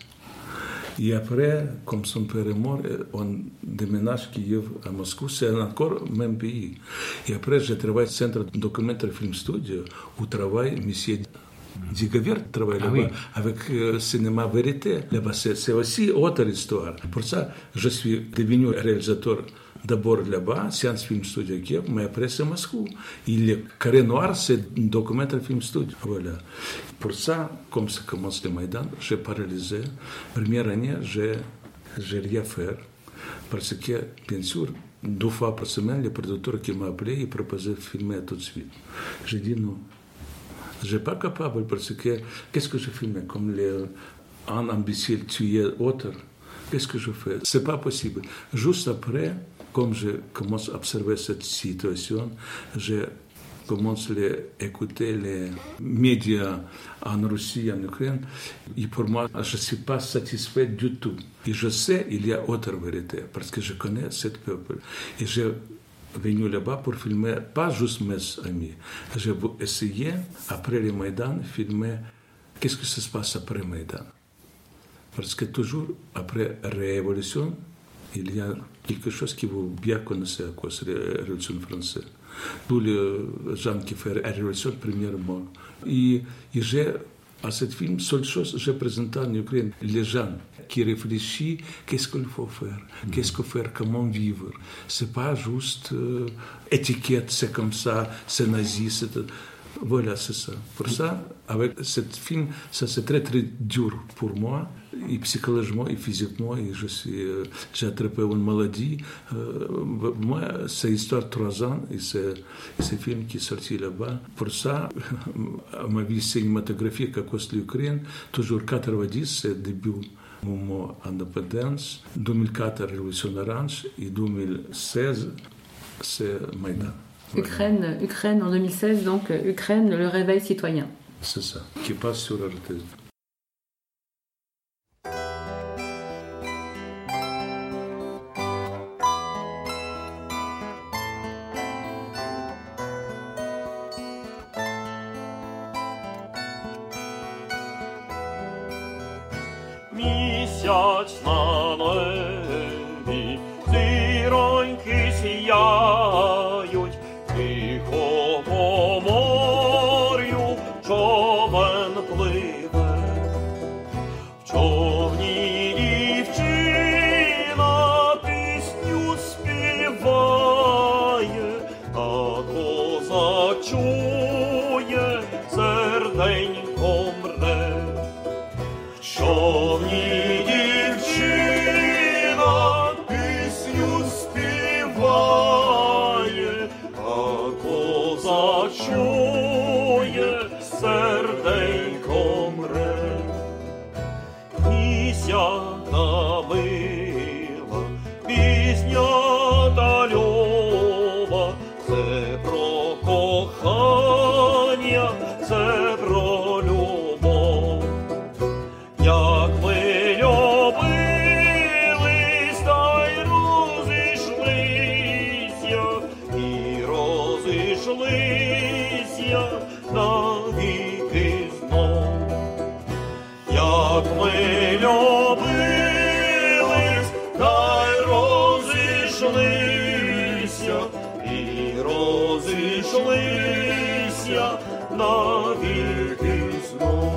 Et après, comme son père est mort, on déménage Kiev à Moscou, c'est encore le même pays. Et après, j'ai travaillé au Centre Documentaire Film Studio, où travaille M. Digovert, travaille là-bas, avec Cinéma Vérité. Là-bas, c'est aussi autre histoire. Pour ça, je suis devenu réalisateur d'abord là-bas, Science Film Studio Kiev, mais après c'est Moscou. Il est Carré Noir, c'est un documentaire film studio. Voilà. Pour ça, comme ça commence le Maïdan, j'ai paralysé. Première année, j'ai rien fait. Parce que, bien sûr, 2 fois par semaine, le producteur qui m'a appelé, il proposait de filmer tout de suite. J'ai dit non. Je ne suis pas capable parce que, qu'est-ce que je filme? Comme un imbécile tué autre. Qu'est-ce que je fais? Ce n'est pas possible. Juste après, comme je commence à observer cette situation, je commence à écouter les médias en Russie, en Ukraine, et pour moi, je ne suis pas satisfait du tout. Et je sais qu'il y a autre vérité, parce que je connais ce peuple. Et je venu là-bas pour filmer, pas juste mes amis. J'ai essayé, après le Maïdan, filmer qu'est-ce que se passe après le Maïdan. Parce que toujours, après la Révolution, il y a quelque chose que vous bien connaissez à cause de la Révolution française. Tous les gens qui font la Révolution, premièrement. Et j'ai, à ce film, seule chose, j'ai présenté en Ukraine les gens qui réfléchissent, qu'est-ce qu'il faut faire, qu'est-ce qu'il faut faire, comment vivre. C'est pas juste étiquette, c'est comme ça, c'est nazi, c'est... Voilà, c'est ça. Pour ça, avec ce film, ça c'est très très dur pour moi, et psychologiquement et physiquement. Et j'ai attrapé une maladie. Moi, c'est l'histoire de 3 ans et c'est ce film qui est sorti là-bas. Pour ça, ma vie cinématographique à cause de l'Ukraine, toujours 90, c'est le début du mouvement indépendance, 2004, Révolution Orange, et 2016, c'est Maïdan. Ukraine en 2016, donc Ukraine, le réveil citoyen. C'est ça, qui passe sur RT. Місяць на небі, зіроньки сіяють, тихо по морю човен пливе. В човні дівчина пісню співає, а козак чує, серденько мре. В човні дівчина пісню співає, пісня дальова, це про кохання, це про любов. Як ми любились, та й розійшлися, і розійшлися навіки знов. Як ми любились, та й розійшлися, і розійшлися навіки знов.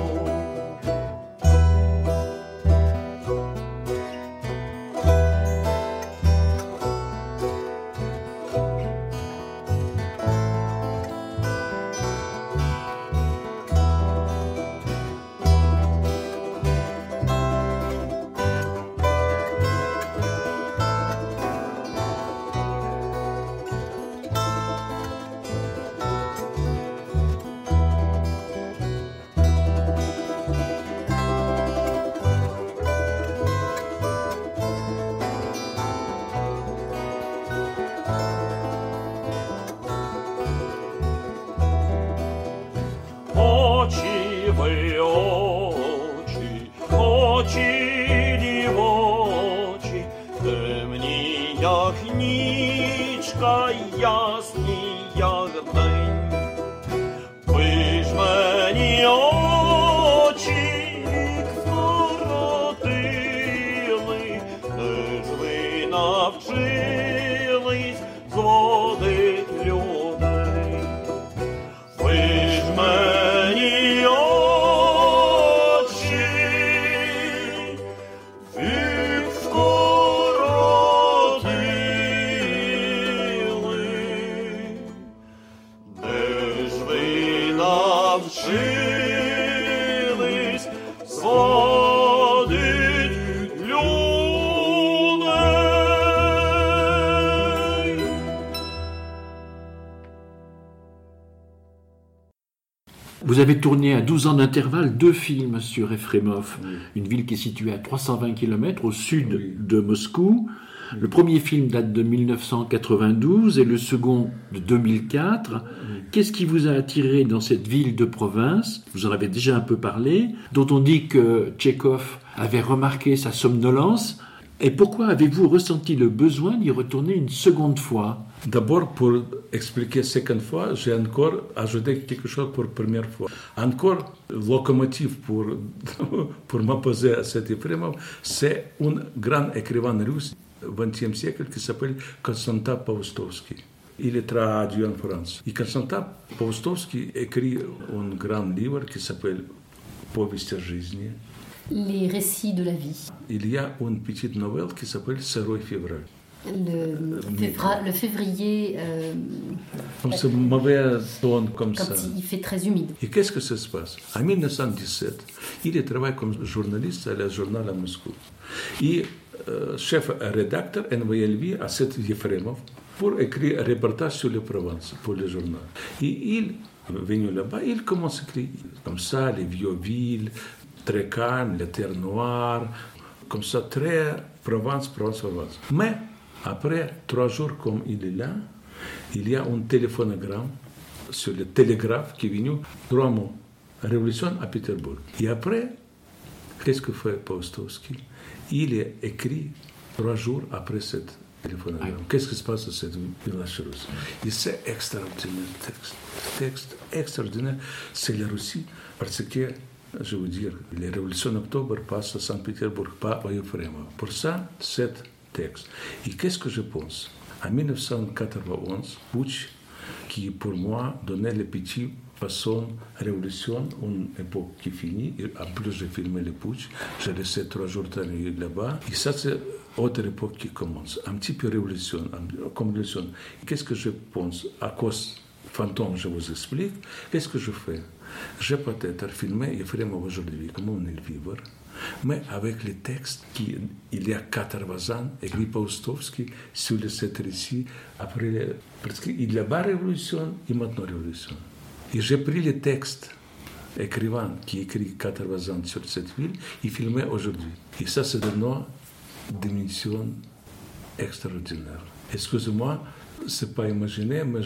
Очі ви очі, очі дівочі, темні, як нічка, ясні, як день. Ви ж мені очі вік скоротили, де ж ви навчились зводить людей. Ви ж мені очі вік скоротили, де ж ви навчились зводить людей. Vous avez tourné à 12 ans d'intervalle 2 films sur Efremov, une ville qui est située à 320 km au sud de Moscou. Le premier film date de 1992 et le second de 2004. Qu'est-ce qui vous a attiré dans cette ville de province? Vous en avez déjà un peu parlé, dont on dit que Tchekhov avait remarqué sa somnolence. Et pourquoi avez-vous ressenti le besoin d'y retourner une seconde fois? D'abord, pour expliquer seconde fois, j'ai encore ajouté quelque chose pour première fois. Encore, locomotive pour m'opposer à cet Efremov, c'est un grand écrivain russe du XXe siècle qui s'appelle Konstantin Paustovsky. Il est traduit en France. Et Konstantin Paustovsky écrit un grand livre qui s'appelle Повесть о жизни. Les récits de la vie. Il y a une petite nouvelle qui s'appelle Сырой февраль. Le février, Comme ce mauvais ton comme quand ça. il fait très humide. Et qu'est-ce que ça se passe? En 1917, il travaille comme journaliste à la journal à Moscou. Et chef rédacteur envoyé lui à cet Efremov pour écrire un reportage sur les provinces pour le journal. Et il venu là-bas, il commence à écrire comme ça, les vieux villes, très calmes, les terres noires, comme ça, très Provence. Mais après 3 jours comme il est là, il y a un téléphonogramme sur le télégraphe qui est venu, 3 mots, révolution à Pétersbourg. Et après, qu'est-ce que fait Paustovsky? Il est écrit 3 jours après cette téléphonogramme. Qu'est-ce qui se passe dans cette village russe? Et c'est extraordinaire texte extraordinaire. C'est la Russie parce que, je veux dire, les révolutions d'octobre passent à Saint-Pétersbourg, pas à Efremov. Pour ça, cet texte. Et qu'est-ce que je pense? En 1991, Putsch, qui pour moi donnait les petits façons révolution, une époque qui finit. Et en plus, j'ai filmé le Putsch. J'ai laissé 3 jours là-bas. Et ça, c'est autre époque qui commence. Un petit peu révolution, comme révolution. Qu'est-ce que je pense? À cause fantôme, je vous explique. Qu'est-ce que je fais? J'ai peut-être filmé Efremov aujourd'hui, comme on est vivre, mais avec les textes il y a 80 ans, écrit Paustovsky sur cet récit, après, parce qu'il y a pas révolution et maintenant révolution. Et j'ai pris les textes écrivains qui écrit 80 ans sur cette ville et filmé aujourd'hui. Et ça, c'est de nos dimensions extraordinaire. Excusez-moi, c'est pas imaginé, mais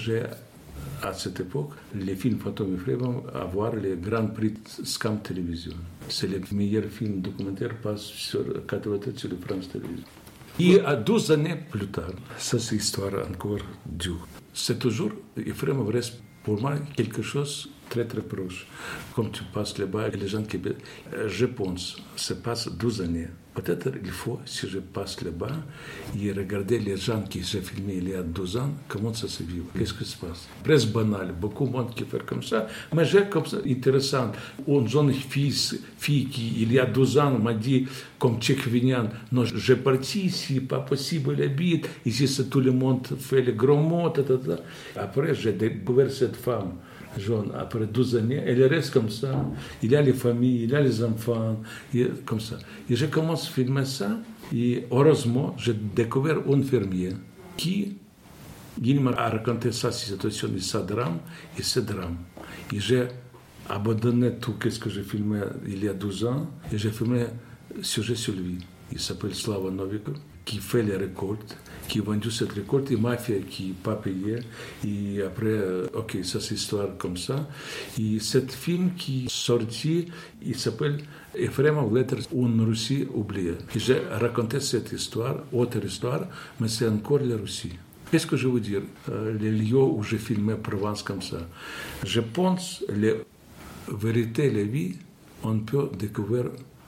à cette époque, les films photographiés vont avoir les grands prix Scam Télévision. C'est les meilleurs films documentaires passent sur 4 sur le France Télévision. Et à 12 années plus tard, ça c'est histoire encore dure. C'est toujours, il vraiment reste pour moi quelque chose très très proche. Comme tu passes là-bas, et les gens qui... Je pense, ça passe 12 années. Peut-être il faut, si je passe là-bas, et regarder les gens qui j'ai filmé il y a 12 ans, comment ça se vit, qu'est-ce qui se passe. Presque banal, beaucoup de monde qui fait comme ça, mais j'ai comme ça intéressant. Une jeune fille qui, il y a 12 ans, m'a dit, comme tchécovinian, non, j'ai parti ici, pas possible d'habiter, ici c'est tout le monde fait les gros mots, Après, j'ai découvert cette femme. Jeune, après 12 années, elle reste comme ça. Il y a les familles, il y a les enfants, comme ça. Et je commence à filmer ça, et heureusement, j'ai découvert un fermier qui, il m'a raconté sa situation et sa drame, et ce drame. Et j'ai abandonné tout ce que j'ai filmé il y a 12 ans, et j'ai filmé un sujet sur lui. Il s'appelle Slava Novikov, qui fait les récoltes, qui a vendu cette récolte, et mafia qui n'a pas payé. Et après, ok, ça c'est histoire comme ça. Et cet film qui est sorti, il s'appelle Ephremov Letters, une Russie oubliée. Et j'ai raconté cette histoire, autre histoire, mais c'est encore la Russie. Qu'est-ce que je veux dire? Les lieux où j'ai filmé Provence comme ça. Je pense que les vérités, la vie, on peut découvrir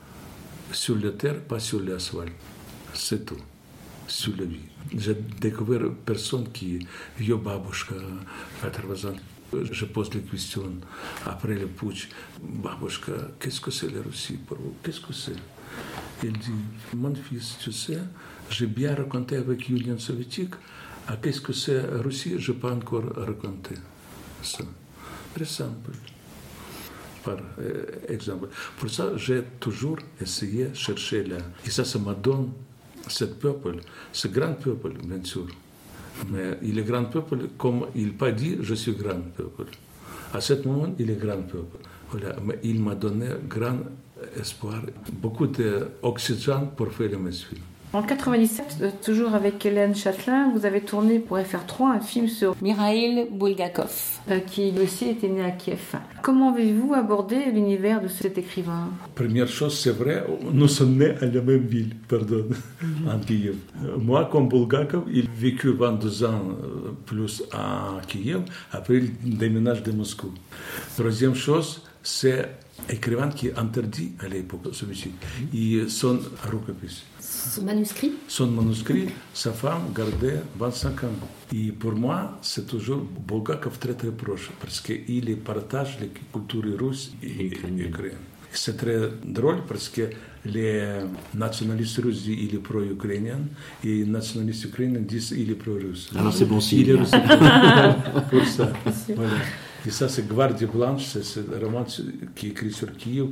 sur la terre, pas sur l'asphalte. C'est tout. Sur la vie. J'ai découvert personne qui, yo babushka, 80 ans. Je pose les questions après le putsch. Babushka, qu'est-ce que c'est la Russie pour vous? Qu'est-ce que c'est? Il dit, mon fils, tu sais, j'ai bien raconté avec l'Union soviétique. Ah, qu'est-ce que c'est la Russie? Je n'ai pas encore raconté ça. Très simple. Par exemple. Pour ça, j'ai toujours essayé de chercher là. Et ça me donne ce peuple, ce grand peuple, bien sûr. Mais il est grand peuple, comme il n'a pas dit, je suis grand peuple. À ce moment, il est grand peuple. Voilà. Mais il m'a donné grand espoir, beaucoup d'oxygène pour faire mes films. En 1997, toujours avec Hélène Châtelain, vous avez tourné pour FR3 un film sur Mikhail Bulgakov, qui aussi était né à Kiev. Comment avez-vous abordé l'univers de cet écrivain? Première chose, c'est vrai, nous sommes nés à la même ville, en Kiev. Moi, comme Bulgakov, il a vécu 22 ans plus à Kiev, après il déménage de Moscou. Troisième chose, c'est écrivain qui est interdit à l'époque soviétique. Et son rukopis. Son manuscrit, sa femme gardait 25 ans. Et pour moi, c'est toujours Bulgakov très très proche, parce qu'il partage les cultures russes et ukrainiennes. C'est très drôle parce que les nationalistes russes disent qu'il est pro-ukrainien et les nationalistes ukrainiens disent qu'il est pro-russe. Alors c'est bon signe. Il est russe pour ça. Voilà. Et ça, c'est Gvardia Blanche, c'est un roman qui est écrit sur Kiev.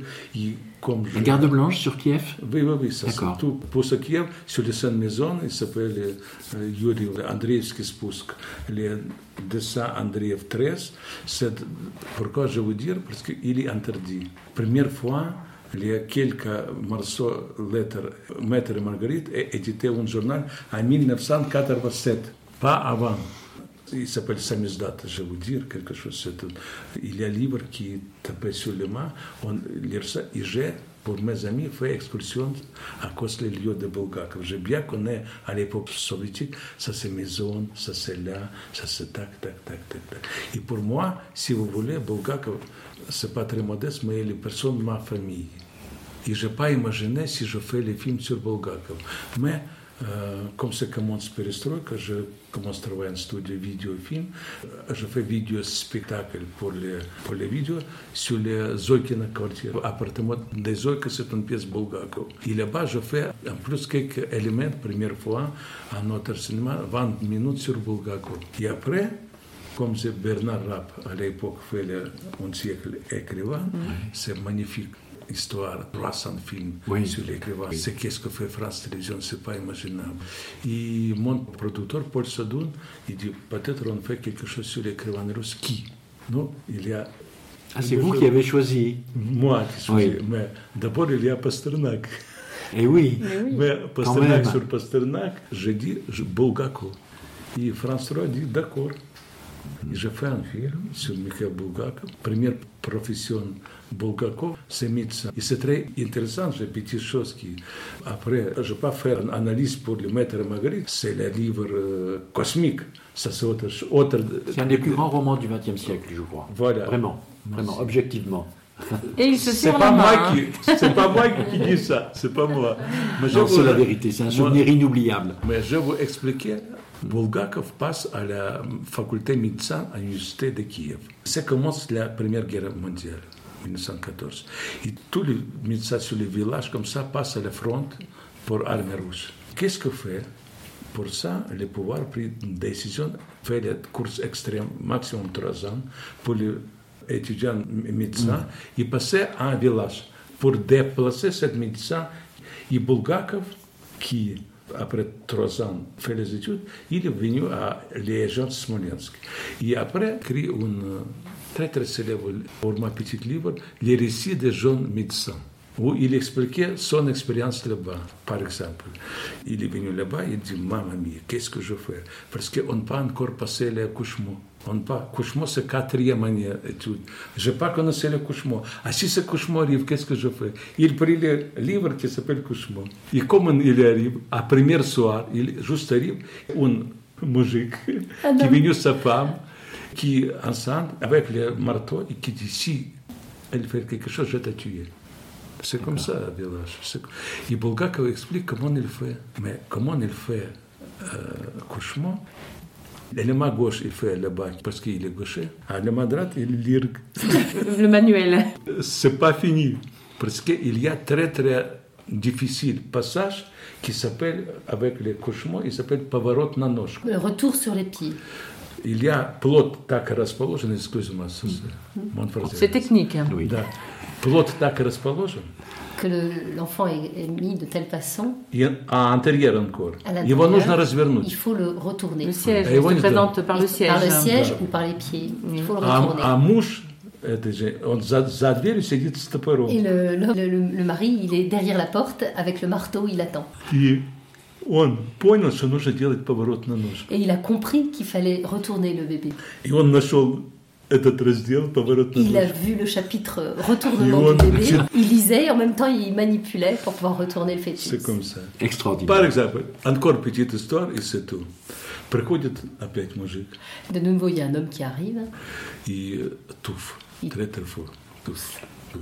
La Garde Blanche sur Kiev? Oui, ça c'est tout. Pour ce Kiev, sur les 5 maisons, il s'appelle Yuri Andreevski Spusk, les dessins Andreev 13. Pourquoi je veux dire? Parce qu'il est interdit. Première fois, il y a quelques morceaux lettres, Maître et Marguerite, et édité un journal en 1987, pas avant. Il s'appelle Samizdat, je vais vous dire quelque chose. Il y a un livre qui est tapé sur les mains, on lit ça, et j'ai, pour mes amis, fait excursion à cause des lieux de Bulgakov. J'ai bien connu à l'époque soviétique, ça c'est maison, ça c'est là, ça c'est tac. Et pour moi, si vous voulez, Bulgakov, c'est pas très modeste, mais il est personne de ma famille. Et je n'ai pas imaginé si je fais les films sur Bulgakov. Mais comme ça commence Perestroïka, je commence à travailler en studio vidéo et film. Je fais vidéo spectacle pour les vidéos sur les Zoykina quartier. Appartement des Zoyka, c'est une pièce Bulgakov. Et là-bas, je fais en plus quelques éléments, première fois, à notre cinéma, 20 minutes sur Bulgakov. Et après, comme c'est Bernard Rapp, à l'époque, fait un siècle écrivain, c'est magnifique. Histoire, 300 films sur l'écrivain. C'est qu'est-ce que fait France Télévisions, c'est pas imaginable. Et mon producteur, Paul Sadoun, il dit, peut-être on fait quelque chose sur l'écrivain russe. Qui? Non, il y a... Ah, c'est vous qui avez choisi? Moi qui choisi. Mais d'abord, il y a Pasternak. Et oui. Mais Pasternak même. sur Pasternak, j'ai dit Bulgakov. Et François dit d'accord. Et j'ai fait un film sur Mikhail Bulgakov. Première profession Bulgakov, c'est médecin. Et c'est très intéressant, j'ai petites choses qui... Après, je ne vais pas faire une analyse pour le Maître et Marguerite. C'est le livre cosmique. Ça, c'est autre... C'est un des plus grands romans du XXe siècle, je crois. Voilà. Vraiment, objectivement. Et il se C'est serre pas la main. moi hein. c'est pas moi qui dis ça, c'est pas moi. Mais je Non, vous- c'est la vérité, c'est un souvenir inoubliable. Mais je vais vous expliquer. Bulgakov passe à la faculté de médecine à l'université de Kiev. Ça commence la Première Guerre mondiale, 1914. Et tous les médecins sur les villages comme ça passent à la front pour l'armée russe. Qu'est-ce que fait? Pour ça, le pouvoir a pris une décision, fait les courses extrêmes, maximum 3 ans, pour les étudiants médecins, et passer à un village pour déplacer cette médecin. Et Bulgakov, qui après 3 ans fait les études, il est venu à Légion Smolensk. Et après, écrit un très très célèbre format petit livre, Les récits des jeunes médecins, où il expliquait son expérience là-bas. Par exemple, il est venu là-bas, il dit, maman mia, qu'est-ce que je fais? Parce qu'on n'a pas encore passé l'accouchement. L'accouchement, c'est 4e année d'études. Je n'ai pas connu l'accouchement. Ah, si cet accouchement arrive, qu'est-ce que je fais? Il prit le livre qui s'appelle Accouchement. Et comment il arrive? À premier soir, il juste arrive, un moujik qui est venu sa femme, qui ensemble, avec le marteau, et qui dit, si elle fait quelque chose, je vais te tuer. C'est comme ça, le village. Et Bulgakov explique comment il fait. Mais comment il fait accouchement? Le main gauche, il fait là-bas parce qu'il est gaucher. Le main droite, il lit. Le manuel. C'est pas fini. Parce qu'il y a très, très difficile passage qui s'appelle, avec les couchements, il s'appelle поворот на ножку. Le retour sur les pieds. Il y a плод так расположен, excuse-moi, mon frère. C'est technique. hein. Oui. Да. Плод так расположен, Que l'enfant est mis de telle façon, и антérieur encore. à Его нужно l'intérieur, развернуть. il faut le retourner. Le siège Et se oui, présente par le siège. Par le siège Да. ou par les pieds. Il faut le А retourner. муж, это же, он за дверью сидит с топором. Et le mari, il est derrière la porte avec le marteau, il attend. И он понял, что нужно делать поворот на ножку. Et il a compris qu'il fallait retourner le bébé. И он нашел этот раздел поворот на Il a ножку. vu le chapitre retournement Et on- du bébé. Il lisait et en même temps il manipulait pour pouvoir retourner le fœtus. C'est comme ça. Extraordinaire. Par exemple, encore petite histoire, et c'est tout. Приходит опять мужик De nouveau, il y a un homme qui arrive. и туф, très très fort. Туф.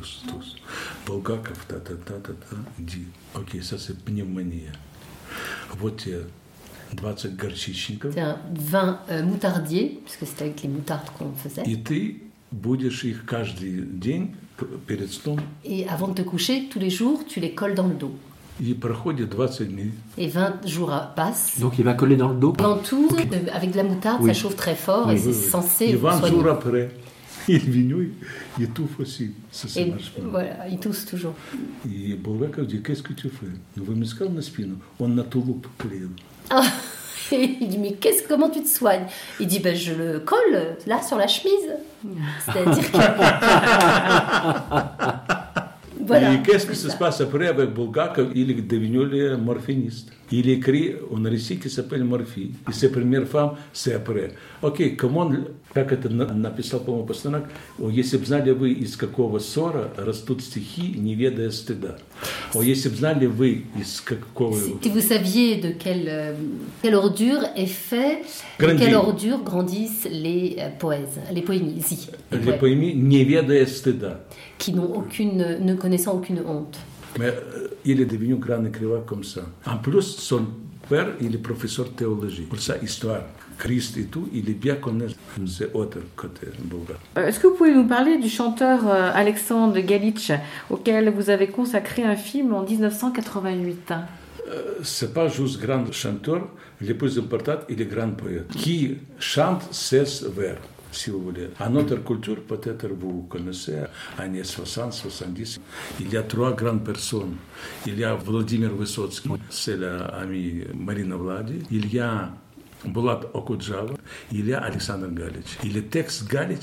Bulgakov, та-та-та-та-та, dit, ok, ça c'est pneumonie. Вот тебе 20 горчичников, C'est un vin moutardier, puisque c'était avec les moutardes qu'on faisait. и ты будешь их каждый день перед сном, Et avant de te coucher, tous les jours, tu les colles dans le dos. и проходит 20 дней. Et 20 jours passent. Donc il va coller dans le dos. Ventouse, avec de la moutarde, Oui. ça chauffe très fort et c'est censé И 20 soigner. jours après, il est venu, et туф aussi. Ça, ça Et marche pas. voilà, il tousse toujours. И Булгаков dit, qu'est-ce que tu fais? Ну, вы мне сказали на спину, он на тулуп клеил. Ah, et il dit, mais comment tu te soignes? Il dit, ben, je le colle là sur la chemise. C'est-à-dire que... Voilà. Et qu'est-ce qui c'est se ça. passe après avec Bulgakov? Il est devenu le morphiniste. Il écrit un récit qui s'appelle Morphie. Et ses premières femmes, c'est après. Окей, как это написал, по-моему, Пастернак, если бы знали вы, из какого ссора растут стихи, не ведая стыда. Если бы знали вы, из какого... Si vous saviez de quelle ordure est fait, de Grandit. quelle ordure grandissent les poèses, les poésies, les Les poèmes, поэми, не ведая стыда. qui n'ont ne connaissant aucune honte. Mais il est devenu grand écrivain comme ça. En plus, son père, il est professeur de théologie. Pour ça, histoire, Christ et tout, il est bien connu. C'est autre côté Bulgare. Est-ce que vous pouvez nous parler du chanteur Alexandre Galitch, auquel vous avez consacré un film en 1988? C'est pas juste grand chanteur, le plus important, il est grand poète, qui chante 16 vers. Si vous voulez. À notre culture, peut-être vous connaissez, années 60, 70, il y a 3 grandes personnes. Il y a Vladimir Vysotsky, c'est l'ami Marina Vladi. Il y a Bulat Okudjava, il y a Alexandre Galitch. Et le texte Galitch,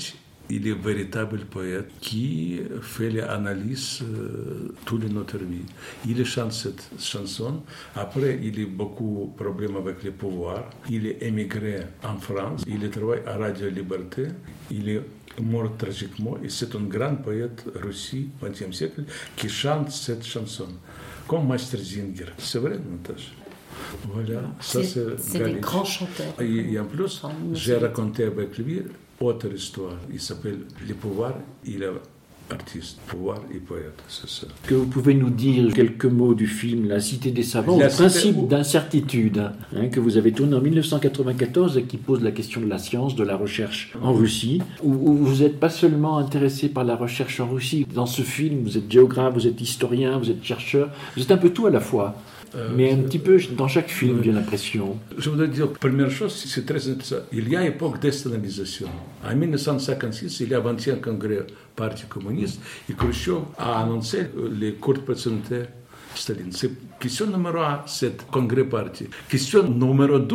il est un véritable poète qui fait l'analyse de toute notre vie. Il chante cette chanson. Après, il a beaucoup de problèmes avec le pouvoir. Il est émigré en France. Il travaille à Radio Liberté. Il est mort tragiquement. Et c'est un grand poète russe du XXe siècle qui chante cette chanson. Comme Master Zinger. C'est vrai, Natacha? Voilà, ça C'est des Galitch. grands chanteurs. Et en plus, j'ai raconté avec lui autre histoire. Il s'appelle Le pouvoir. Il est artiste, pouvoir et poète, c'est ça. Est-ce que vous pouvez nous dire quelques mots du film La Cité des Savants, La le Cité- principe d'incertitude, que vous avez tourné en 1994 et qui pose la question de la science, de la recherche en Russie, où vous n'êtes pas seulement intéressé par la recherche en Russie. Dans ce film, vous êtes géographe, vous êtes historien, vous êtes chercheur, vous êtes un peu tout à la fois. Mais un petit peu dans chaque film, j'ai l'impression. Je voudrais dire, première chose, c'est très intéressant. Il y a une époque d'estalinisation. En 1956, il y a 21 congrès Parti communiste et Khrushchev a annoncé les courtes personnalités Staline. C'est question numéro 1, c'est congrès parti. Question numéro 2,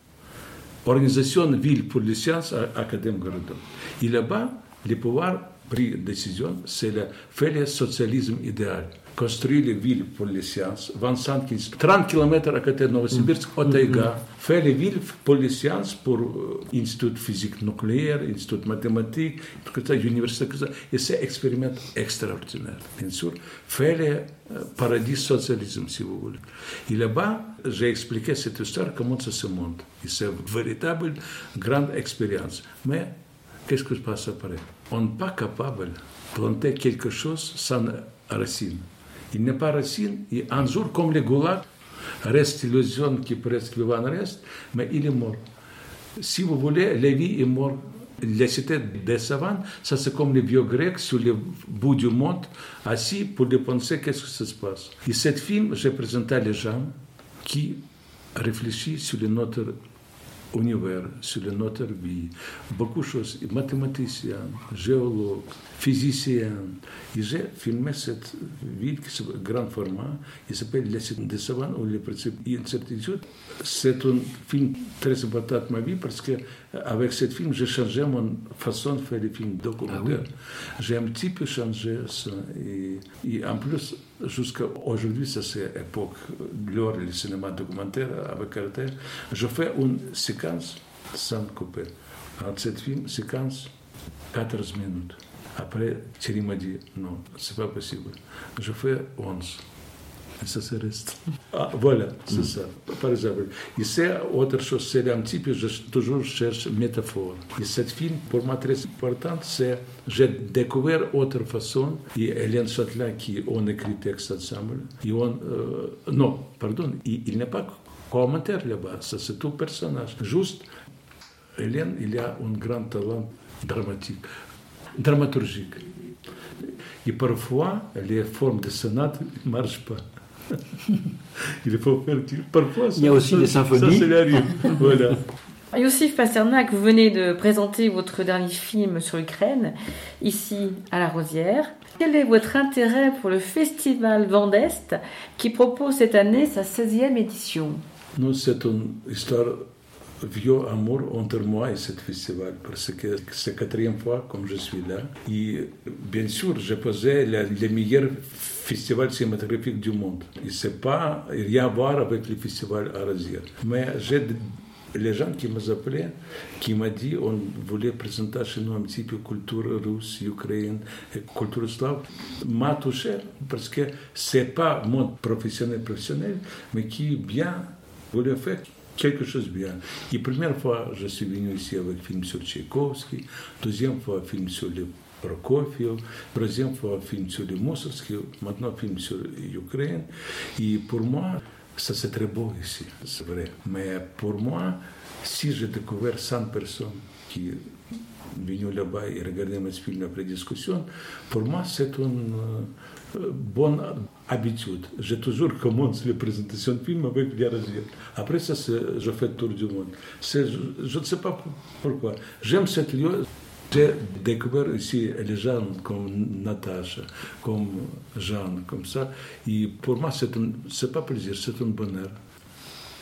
organisation ville pour les sciences à Académie Gorodov. Et là-bas, le pouvoir pris décision, c'est faire le socialisme idéal. Construire les villes pour les sciences, 30 km à côté de Novosibirsk, au Taïga, faire les villes pour les sciences, pour Institut de physique nucléaire, Institut de mathématiques, université, et c'est un expériment extraordinaire. Bien sûr, faire le paradis socialisme, si vous voulez. Et là-bas, j'ai expliqué cette histoire, comment ça se monte. Et c'est une véritable grande expérience. Mais qu'est-ce qui se passe après? On n'est pas capable de planter quelque chose sans racine. Il n'est pas racine, et un jour, comme le goulag, reste l'illusion qui presque vivant reste, mais il est mort. Si vous voulez, la vie est morte. La cité des savants, ça c'est comme les vieux grecs sur le bout du monde, assis pour penser qu'est-ce que ça se passe. Et ce film, j'ai présenté les gens qui réfléchissent sur notre univers, sur notre vie, beaucoup de choses, mathématiciens, géologues, physiciens. Et j'ai filmé cette ville qui est grand format, il s'appelle La Cité des Savants ou le principe d'incertitude. C'est un film très important de ma vie parce que avec ce film, j'ai changé mon façon de faire des films documentaires. J'ai un petit peu changé ça. Et en plus, jusqu'à aujourd'hui, ça c'est l'époque, l'heure du cinéma documentaire avec caractère, je fais une séquence sans couper. Dans cette film, séquence 14 minutes. Après, Thierry m'a dit, non, c'est pas possible. Je fais 11. Et ça se reste. Ah, voilà, c'est ça, par exemple. Et c'est autre chose, c'est un petit peu, je toujours cherche métaphore. Et cette film, pour moi, très importante, c'est, j'ai découvert autre façon, et Hélène Châtelain, qui on écrit texte ensemble, et on, non, pardon, il n'est pas commentaire là-bas, ça c'est tout personnage. Juste, Hélène, il a un grand talent dramaturgique. Et parfois, les formes de sonate ne marchent pas. Il faut faire parfois. Il y a aussi des symphonies. Ça, c'est arrive. Voilà. Yossif Pasternak, vous venez de présenter votre dernier film sur l'Ukraine, ici à La Rosière. Quel est votre intérêt pour le Festival Vent d'Est qui propose cette année sa 16e édition? Nous, c'est une histoire vieux amour entre moi et ce festival, parce que c'est la 4e fois comme je suis là. Et bien sûr, j'ai posé les meilleurs festivals cinématographiques du monde. Et c'est pas rien à voir avec le festival à Rosière. Mais j'ai les gens qui m'ont appelé, qui m'ont dit on voulait présenter chez nous un petit peu culture russe, ukrainienne, culture slave, m'a touché parce que c'est pas mon professionnel, mais qui bien voulait faire quelque chose de bien. Et première fois, je suis venu ici avec un film sur Tchaïkovski, deuxième fois, un film sur le Prokofiev, troisième fois, un film sur le Mussorgsky, maintenant, un film sur l'Ukraine. Et pour moi, ça c'est très beau ici, c'est vrai. Mais pour moi, si j'ai découvert 100 personnes qui sont venues là-bas et regardaient mes films après discussion, pour moi, c'est une bonne habitude. J'ai toujours commencé les présentations de films avec les Rosières. Après ça, je fais le tour du monde. Je ne sais pas pourquoi. J'aime ce lieu. J'ai découvert ici les gens comme Natacha, comme Jeanne, comme ça. Et pour moi, c'est pas plaisir, c'est un bonheur.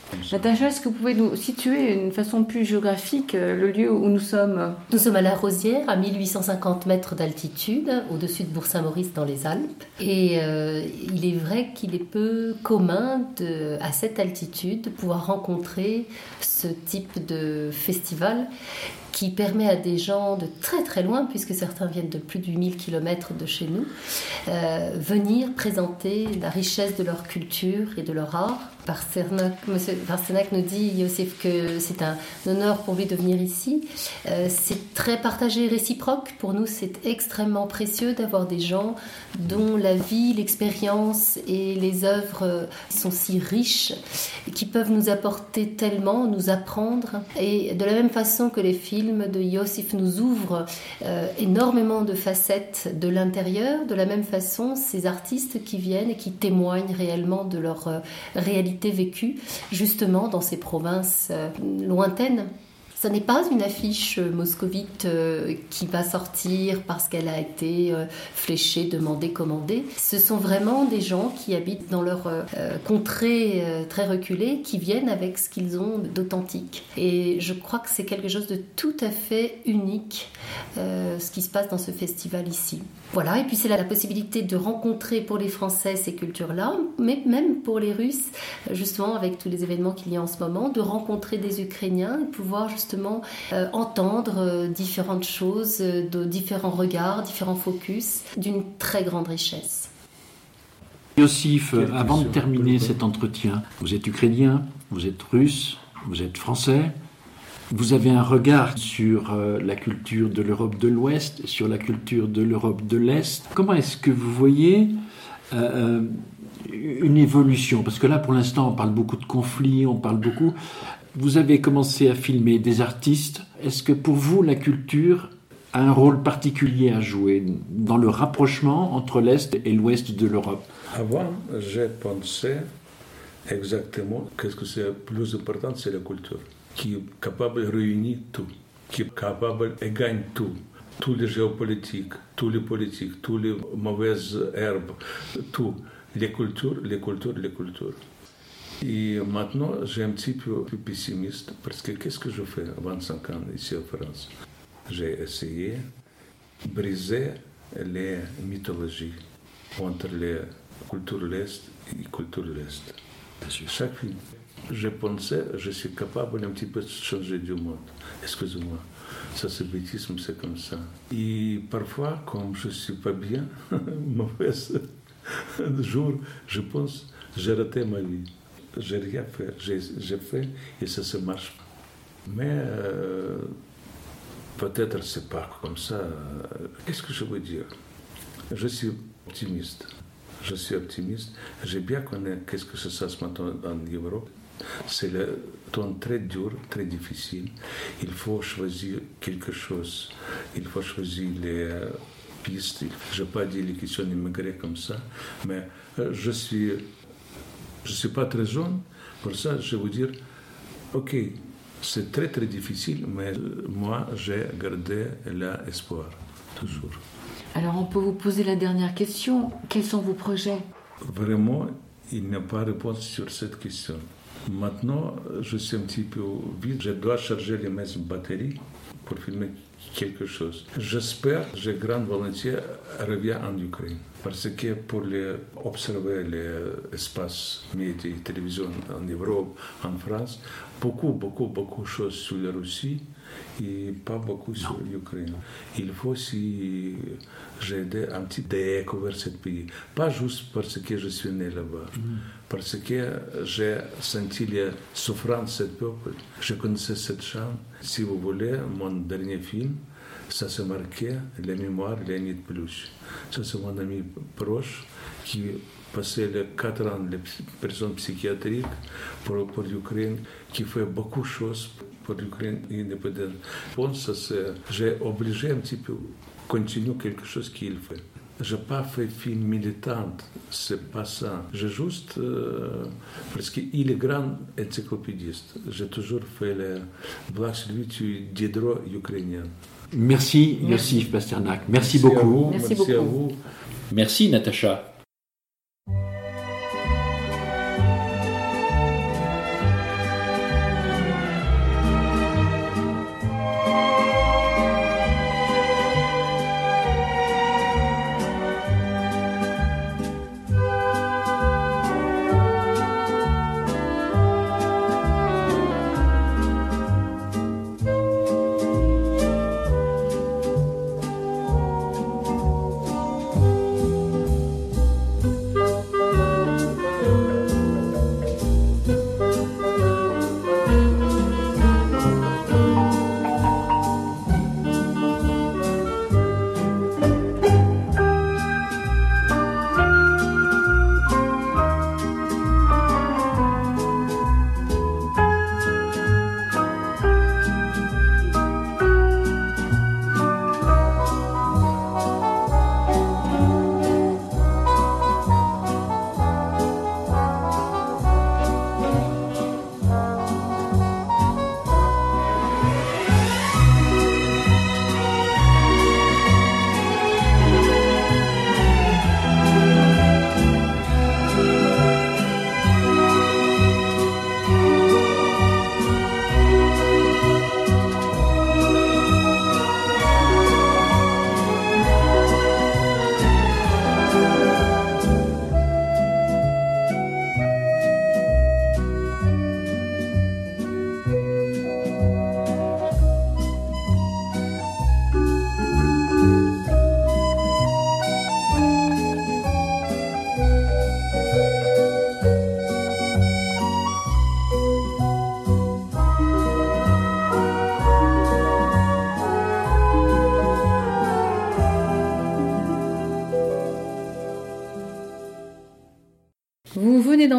Natacha, est-ce que vous pouvez nous situer d'une façon plus géographique le lieu où nous sommes? Nous sommes à La Rosière, à 1850 mètres d'altitude, au-dessus de Bourg-Saint-Maurice dans les Alpes. Et il est vrai qu'il est peu commun à cette altitude de pouvoir rencontrer ce type de festival qui permet à des gens de très très loin, puisque certains viennent de plus de 8000 km de chez nous, venir présenter la richesse de leur culture et de leur art. Monsieur Pasternak nous dit, Yossif, que c'est un honneur pour lui de venir ici. C'est très partagé et réciproque. Pour nous, c'est extrêmement précieux d'avoir des gens dont la vie, l'expérience et les œuvres sont si riches et qui peuvent nous apporter tellement, nous apprendre. Et de la même façon que les films de Yossif nous ouvrent énormément de facettes de l'intérieur, de la même façon, ces artistes qui viennent et qui témoignent réellement de leur réalité vécue, justement dans ces provinces lointaines. Ce n'est pas une affiche moscovite qui va sortir parce qu'elle a été fléchée, demandée, commandée. Ce sont vraiment des gens qui habitent dans leur contrée très reculée, qui viennent avec ce qu'ils ont d'authentique. Et je crois que c'est quelque chose de tout à fait unique, ce qui se passe dans ce festival ici. Voilà, et puis c'est la possibilité de rencontrer pour les Français ces cultures-là, mais même pour les Russes, justement avec tous les événements qu'il y a en ce moment, de rencontrer des Ukrainiens et pouvoir justement entendre différentes choses, de différents regards, différents focus, d'une très grande richesse. Yossif, avant de terminer cet entretien, vous êtes ukrainien, vous êtes russe, vous êtes français. Vous avez un regard sur la culture de l'Europe de l'Ouest, sur la culture de l'Europe de l'Est. Comment est-ce que vous voyez une évolution? Parce que là, pour l'instant, on parle beaucoup de conflits, on parle beaucoup... Vous avez commencé à filmer des artistes. Est-ce que pour vous, la culture a un rôle particulier à jouer dans le rapprochement entre l'Est et l'Ouest de l'Europe? Avant, j'ai pensé exactement que ce qui est le plus important, c'est la culture, qui est capable de réunir tout, qui est capable de gagner tout. Tous les géopolitiques, tous les politiques, toutes les mauvaises herbes, tout. Les cultures. Et maintenant, j'ai un petit peu plus pessimiste, parce que qu'est-ce que je fais à 25 ans ici en France? J'ai essayé de briser les mythologies entre les cultures de l'Est et les cultures de l'Est. Chaque film, je pensais, je suis capable un petit peu de changer du monde. Excusez-moi, ça c'est bêtisme, c'est comme ça. Et parfois, comme je ne suis pas bien, mauvais jour, je pense, j'ai raté ma vie. J'ai rien fait, j'ai fait et ça marche. Mais peut-être c'est pas comme ça. Qu'est-ce que je veux dire? Je suis optimiste. J'ai bien connu qu'est-ce que ça se passe maintenant en Europe. C'est le temps très dur, très difficile. Il faut choisir quelque chose. Il faut choisir les pistes. Je n'ai pas dit les questions immigrées comme ça, mais je suis pas très jeune. Pour ça, je vais vous dire, ok, c'est très très difficile, mais moi, j'ai gardé l'espoir, toujours. Alors, on peut vous poser la dernière question. Quels sont vos projets? Vraiment, il n'y a pas de réponse sur cette question. Maintenant, je suis un petit peu vide. Je dois charger mes batteries pour filmer quelque chose. J'espère, j'ai grande volonté, reviens en Ukraine. Parce que pour observer l'espace médias et télévision en Europe, en France, beaucoup de choses sur la Russie et pas beaucoup sur l'Ukraine. Il faut aussi j'aide un petit peu à découvrir ce pays. Pas juste parce que je suis né là-bas, parce que j'ai senti la souffrance de ce peuple. Je connaissais cette chambre. Si vous voulez, mon dernier film, ça s'est marqué la mémoire de Léonid Plutch. Ça, c'est mon ami proche qui passait les 4 ans de prison psychiatrique pour l'Ukraine, qui fait beaucoup de choses pour l'Ukraine indépendante. Bon, j'ai obligé un petit peu continuer quelque chose qu'il fait. Je n'ai pas fait film militant, c'est pas ça. J'ai juste, parce qu'il est grand encyclopédiste. J'ai toujours fait le blague sur lui du Diderot ukrainien. Merci Yossif Pasternak. Merci beaucoup. Merci à vous. Merci Natacha.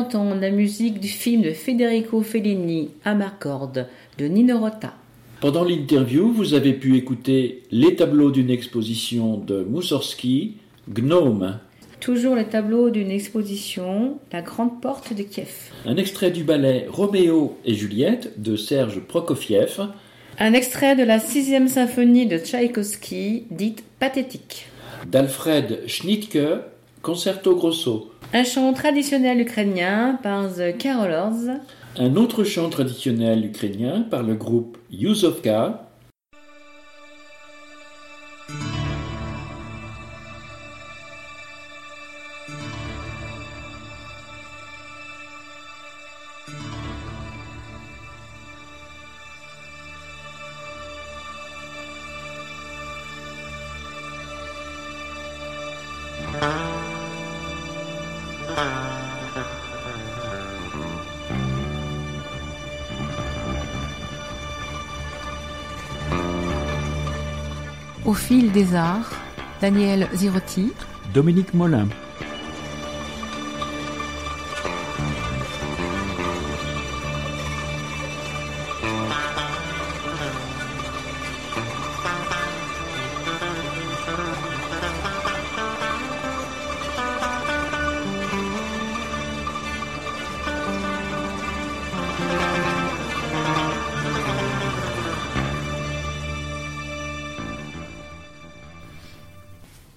entendre la musique du film de Federico Fellini, Amarcord, de Nino Rota. Pendant l'interview, vous avez pu écouter les tableaux d'une exposition de Moussorgsky, Gnome. Toujours les tableaux d'une exposition, La Grande Porte de Kiev. Un extrait du ballet Roméo et Juliette de Serge Prokofiev. Un extrait de la 6e symphonie de Tchaïkovski, dite pathétique. D'Alfred Schnittke, Concerto Grosso. Un chant traditionnel ukrainien par The Carolers. Un autre chant traditionnel ukrainien par le groupe Yuzovka. Au fil des arts, Daniel Zirotti, Dominique Molin.